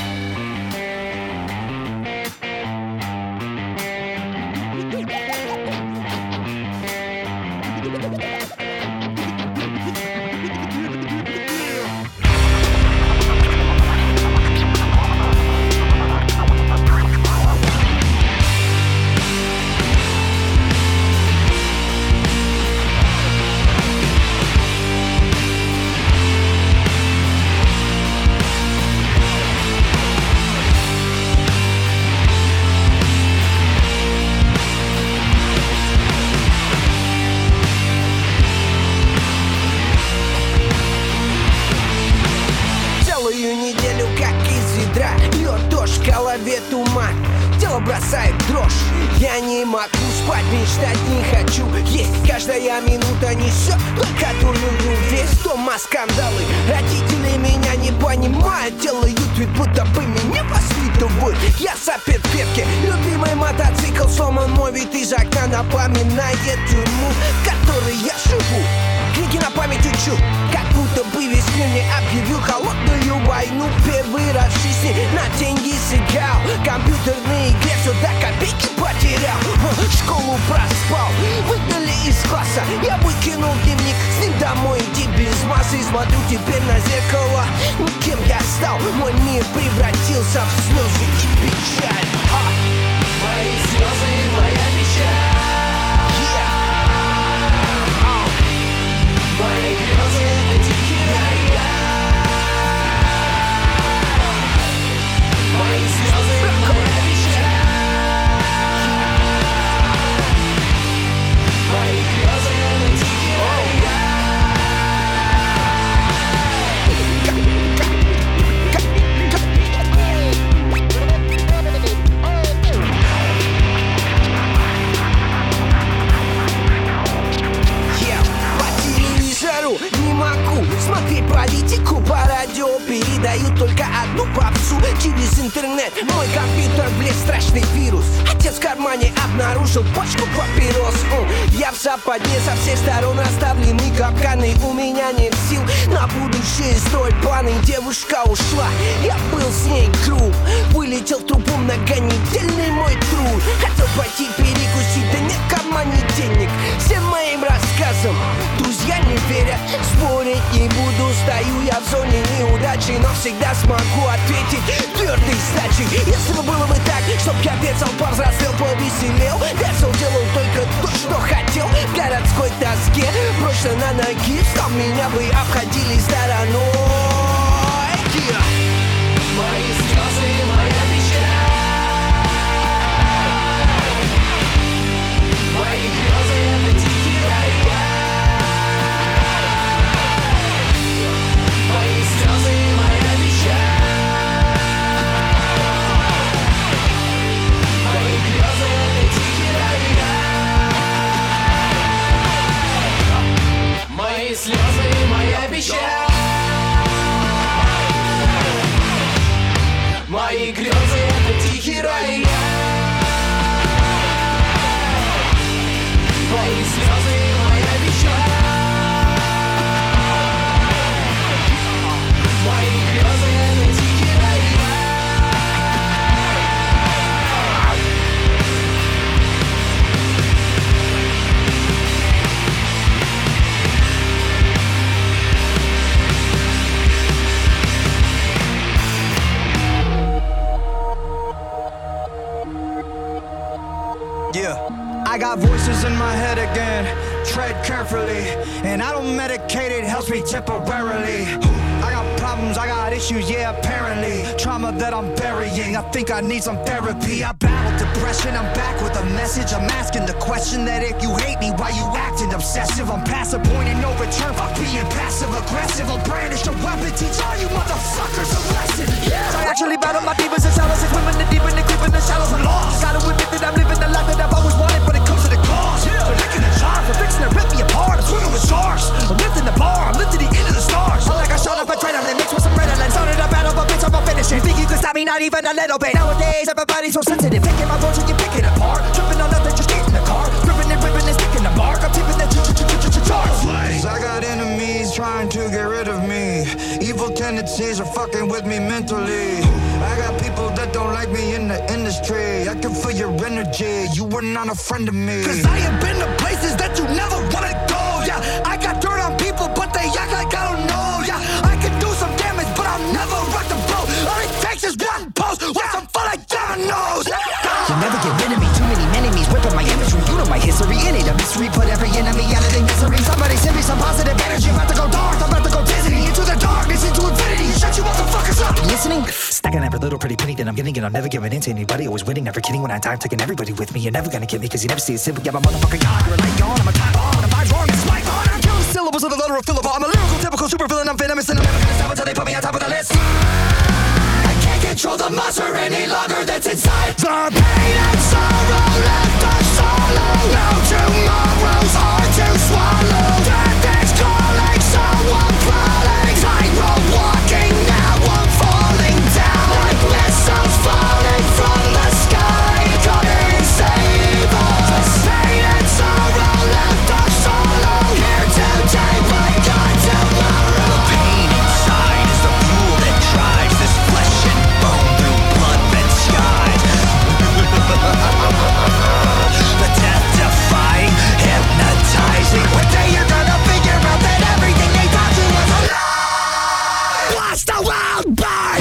Бросает дрожь, я не могу спать, мечтать не хочу. Есть каждая минута несет только дурную весть. Дома скандалы, родители меня не понимают, делают вид, будто бы меня воспитывают. Я сапер пепки, любимый мотоцикл сломан, мой вид из окна напоминает тюрьму, в которой я живу. Книги на память учу, как будто бы весь мир мне объявил холодную войну. Первый раз в жизни на деньги сыграл, компьютерные игры все до копейки потерял. Школу проспал, выгнали из класса, я выкинул дневник, с ним домой иди без массы. Смотрю теперь на зеркало, ну кем я стал? Мой мир превратился в слезы и печаль. А! Мои слезы, моя печаль. Мои грезы — это тихий рай. Мои слезы — моя печаль. Мои грезы — это тихий рай. Не могу смотреть политику по радио, передают только одну попсу через интернет. Мой компьютер влез страшный вирус. Отец в кармане обнаружил пачку папирос. Я в западне, со всех сторон оставлены капканы. У меня нет сил на будущее строить планы. Девушка ушла, я был с ней круг. Вылетел в трубу многонедельный мой труд. Хотел пойти перекусить, да нет в кармане денег. Всем моим рассказам друзья не верят. Спорить не буду, стою я в зоне неудачи, но всегда смогу ответить твердой сдачей. Если бы было бы так, чтоб я пецал, повзрослел, повеселел, пецал, делал только то, что хотел. В городской тоске прочно на ноги встал, меня бы обходили стороной. Yeah. Мои слезы, моя печаль. Мои грезы — это тихий рай. Мои слезы, моя печаль. Мои грезы — это тихий рай. Мои слезы, моя печаль. Мои грезы — это тихий рай. Мои слезы, моя печаль. Мои грезы — это тихий рай. Yeah, I got voices in my head again. Tread carefully, and I don't medicate, it helps me temporarily. I got problems, I got issues, yeah, apparently. Trauma that I'm burying, I think I need some therapy. I battled depression, I'm back with a message. I'm asking the question that if you hate me, why you acting obsessive? I'm past the point and no return, fuck being passive aggressive. I'll brandish a weapon, teach all you motherfuckers a lesson. Yeah. I actually battle my demons and shadows, and women the deep and the creep in the shallows. I'm lost. Gotta admit that I'm living the life that I've always wanted, but it comes to the cost. Yeah. They're licking the jar for fixing to rip me apart. I'm swimming with sharks. I'm lifting the bar, I'm lifting the end of the stars. I'm like I shot up a adrenaline mixed with some Ritalin. Started a battle, but bitch, I'm gonna finish it. Think you can stop me? Not even a little bit. Nowadays, everybody's so sensitive. Taking my voice and you're picking apart. Tripping on nothing, just get in the car. Ripping fucking with me mentally. I got people that don't like me in the industry. I can feel your energy, you were not a friend of me. Cause I have been to places that you never wanna go, yeah. I got dirt on people, but they act like I don't know, yeah. I can do some damage, but I'll never rock the boat. All it takes is one post, with some fun like dominoes. You'll never get rid of me, too many enemies whipping my imagery. You know my history, it ain't a mystery. Put every enemy out of their misery. Somebody send me some positive energy. I'm about to go dark, I'm about to go Disney. Into the darkness, into infinity. Shut you motherfuckers up. You listening? Stacking every little pretty penny that I'm getting, and I'm never giving in to anybody. Always winning, never kidding when I die. I'm taking everybody with me. You're never gonna get me, cause you never see a simple. Yeah, my motherfucking God, you're a light gone. I'm a time bomb, and I'm vibe wrong. It's my thought. I'm killing syllables of the letter of Philip. I'm a lyrical, typical super villain. I'm venomous, and I'm never gonna stop until they put me on top of the list. I can't control the monster any longer that's inside. The pain and sorrow left us solo. No tomorrow's hard to swallow. Death is calling, so I'm crawling. Tightrope walking, now I'm falling down. Like missiles falling from the sky. Come and save us. Pain and sorrow left us solo. Here today, but gone tomorrow. The pain inside is the fuel that drives this flesh and bone through blood-red skies. The death-defying, hypnotizing. One day you're gonna figure out that everything they taught you was a lie. Watch the world burn.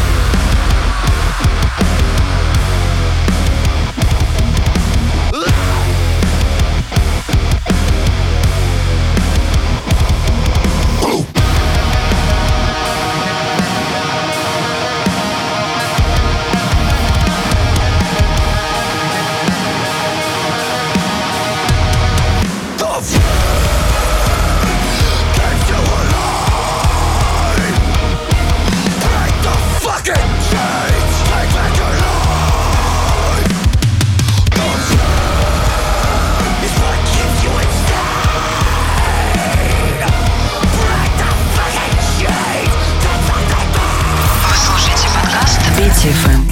Петя эф эм.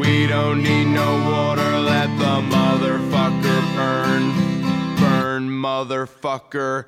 We don't need no water, let the motherfucker burn. Burn, motherfucker.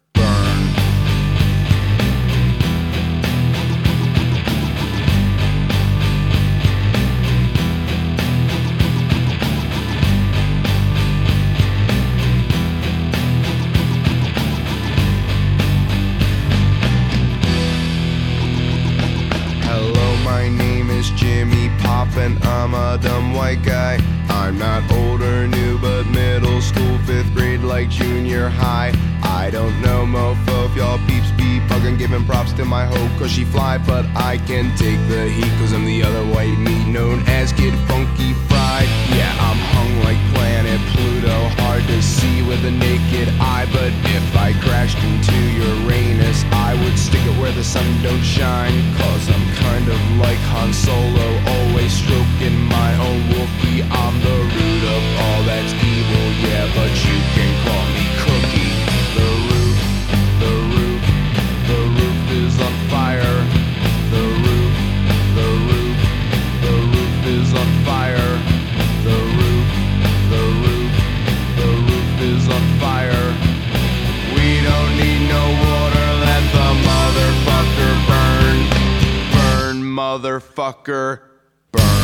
Jimmy Poppin', I'm a dumb white guy. I'm not old or new, but middle school, fifth grade, like junior high. I don't know, mofo, if y'all peeps be buggin', giving props to my hoe, cause she fly. But I can take the heat, cause I'm the other white meat, known as Kid Funky Fried. Yeah, I'm hung like planet Pluto, hard to see with a naked eye. But if I crashed into Uranus, I would stick it where the sun don't shine. Cause I'm kind of like Han Solo, always stroking my own Wookiee. I'm the root of all that's evil, yeah, but you can call me Cookie. The roof, the roof, the roof is on fire. The roof, the roof, the roof is on fire. The roof, the roof, the roof is on fire. We don't need no water, let the motherfucker burn. Burn, motherfucker, burn.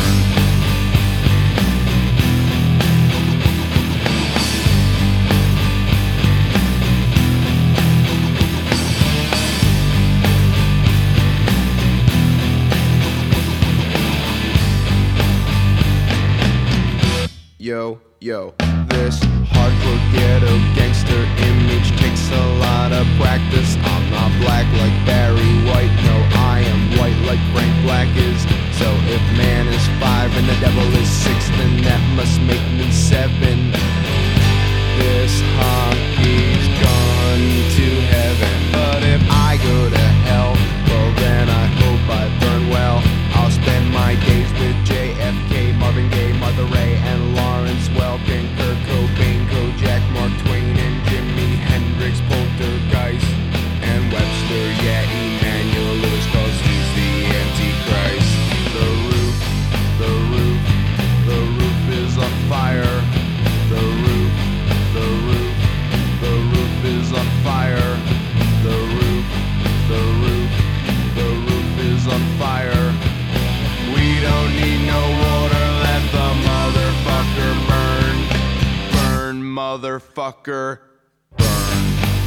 Yo, yo, this hardcore ghetto gangster image takes a lot of practice. I'm not black like Barry White, no, I am white like Frank Black is. So if man is five and the devil is six, then that must make me seven. This hockey's gone to heaven, but if I go to hell, well then I hope I burn well. I'll spend my days with J F K, Marvin Gaye, Martha Ray, and Lawrence Welkin, Kurt Cobain, Kojak, Mark Twain, and Jimi Hendrix, Poltergeist, and Webster, yeah, Emmanuel Lewis, cause he's the Antichrist. The roof, the roof, the roof is on fire. The roof, the roof, the roof is on fire. The roof, the roof, the roof is on fire. We don't need no water, let the motherfucker burn. Burn, motherfucker, burn.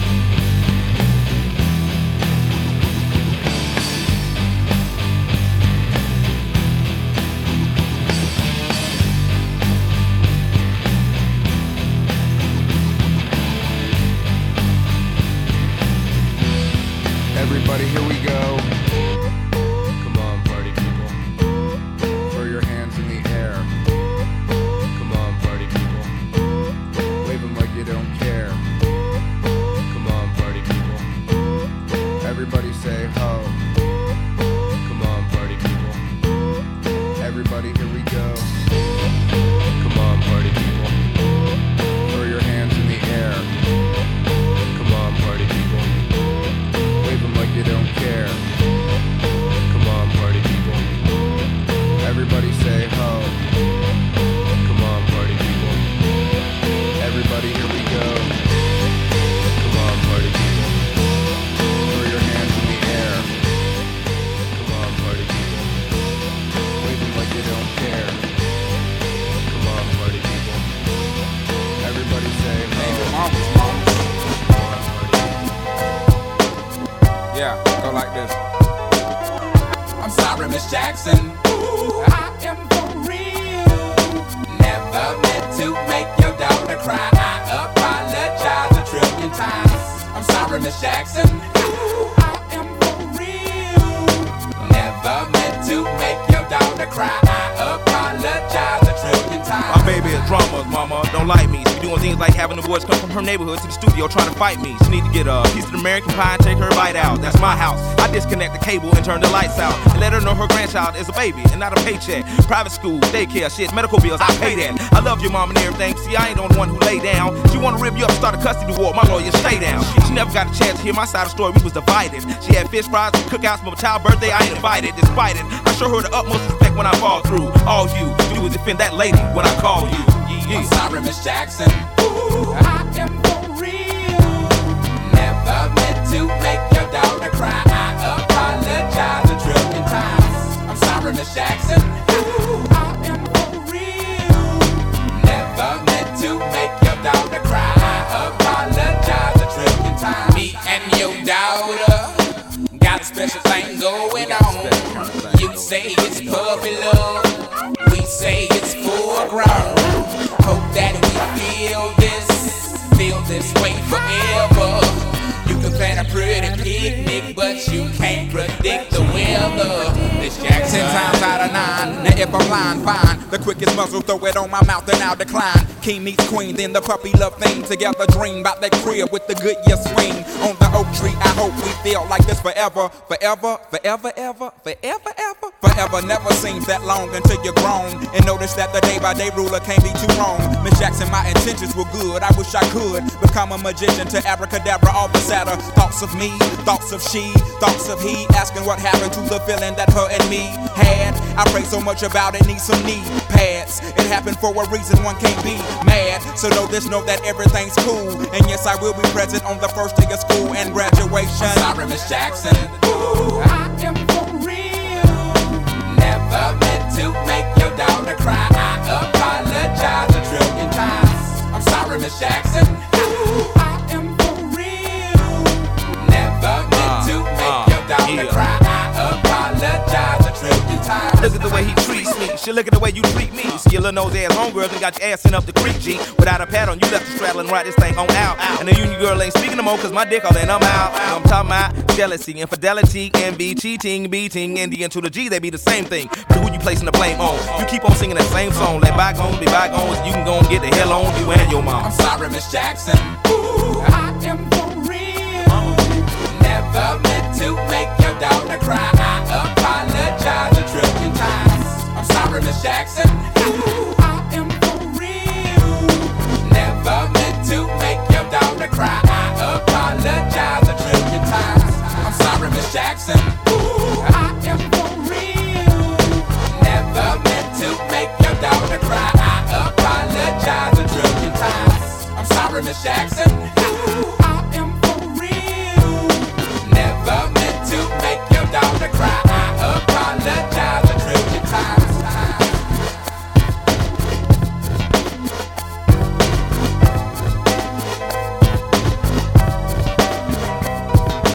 Everybody, here we go. Come on, party people. Throw your hands in the air. Come on, party people. Wave them like you don't care. Come on, party people. Everybody say ho. Come on, party people. Everybody, here we go. Come on, party people. Throw your hands in the air. Come on, party people. Wave them like you don't care. Come on, party people. Everybody say ho. Come on, party people. Everybody, here we go. Come on, party people. Throw your hands in the air. Come on, party people. Wave them like you don't care. Come on, party people. Everybody say ho. Yeah, go like this. I'm sorry, Miss Jackson. Ooh, I am for real. Never meant to make your daughter cry. I apologize a trillion times. I'm sorry, Miss Jackson. Ooh, I am for real. Never meant to make your daughter cry. I apologize a trillion times. My baby is drama, mama, don't like me. She doing things like having the boys come from her neighborhood to the studio trying to fight me. She need to get a piece of American pie and take her bite out. That's my house. I disconnect the cable and turn the lights out and let her know her grandchild is a baby and not a paycheck. Private school, daycare, shit, medical bills, I pay that. I love your mom and everything. See, I ain't the only one who lay down. She wanna rip you up, start a custody war. My lawyer, stay down. She never got a chance to hear my side of the story. We was divided. She had fish fries and cookouts, but my child's birthday I ain't invited. Despite it, I show her the utmost respect when I fall through. All you do is defend that lady when I call you. Yeah. I'm sorry, Miss Jackson. Ooh, I am for real. Never meant to make your daughter cry. I apologize a trillion times. I'm sorry, Miss Jackson. Ooh, I am for real. Never meant to make your daughter cry. I apologize a trillion times. Me and your daughter got a special thing going on. You say it's puppy love, we say it's full grown. Hope that we feel this, feel this way forever. You can plan a pretty picnic, but you can't predict the weather. Miss Jackson. Ten times out of nine, now if I'm lying, fine. The quickest muzzle, throw it on my mouth and I'll decline. King meets queen, then the puppy love thing. Together dream about that crib with the good year swing. On the oak tree, I hope we feel like this forever. Forever, forever, ever, forever, ever. Forever never seems that long until you're grown. And notice that the day by day ruler can't be too wrong. Miss Jackson, my intentions were good. I wish I could become a magician to abracadabra all the sadder. Thoughts of me, thoughts of she, thoughts of he. Asking what happened to the feeling that her and me had. I pray so much about it, need some knee pads. It happened for a reason, one can't be mad. So know this, know that everything's cool. And yes, I will be present on the first day of school and graduation. I'm sorry, Miss Jackson. Ooh, I am for real. Never meant to make your daughter cry. I apologize a trillion times. I'm sorry, Miss Jackson. Ooh, I am for real. Never meant to make your daughter cry. I apologize a trillion times. Look at the way he treats me. Shit, look at the way you treat me. See your little nose ass homegirls and got your ass sent up the creek, G. Without a pad on, you left the straddle and ride this thing on out. And the union girl ain't speaking no more, cause my dick all in, I'm out. I'm talking about jealousy, infidelity, envy, cheating, beating, and the N to the G, they be the same thing. But who you placing the blame on? You keep on singing that same song. Let bygones be bygones, you can go and get the hell on you and your mom. I'm sorry, Miss Jackson. Ooh, I am for real. Never meant to make your daughter cry. I apologize a trillion times. I'm sorry, Miss Jackson. Ooh, I am for real. Never meant to make your daughter cry. I apologize a trillion times. I'm sorry, Miss Jackson. Ooh, I am for real. Never meant to make your daughter cry. I apologize a trillion times. I'm sorry, Miss Jackson.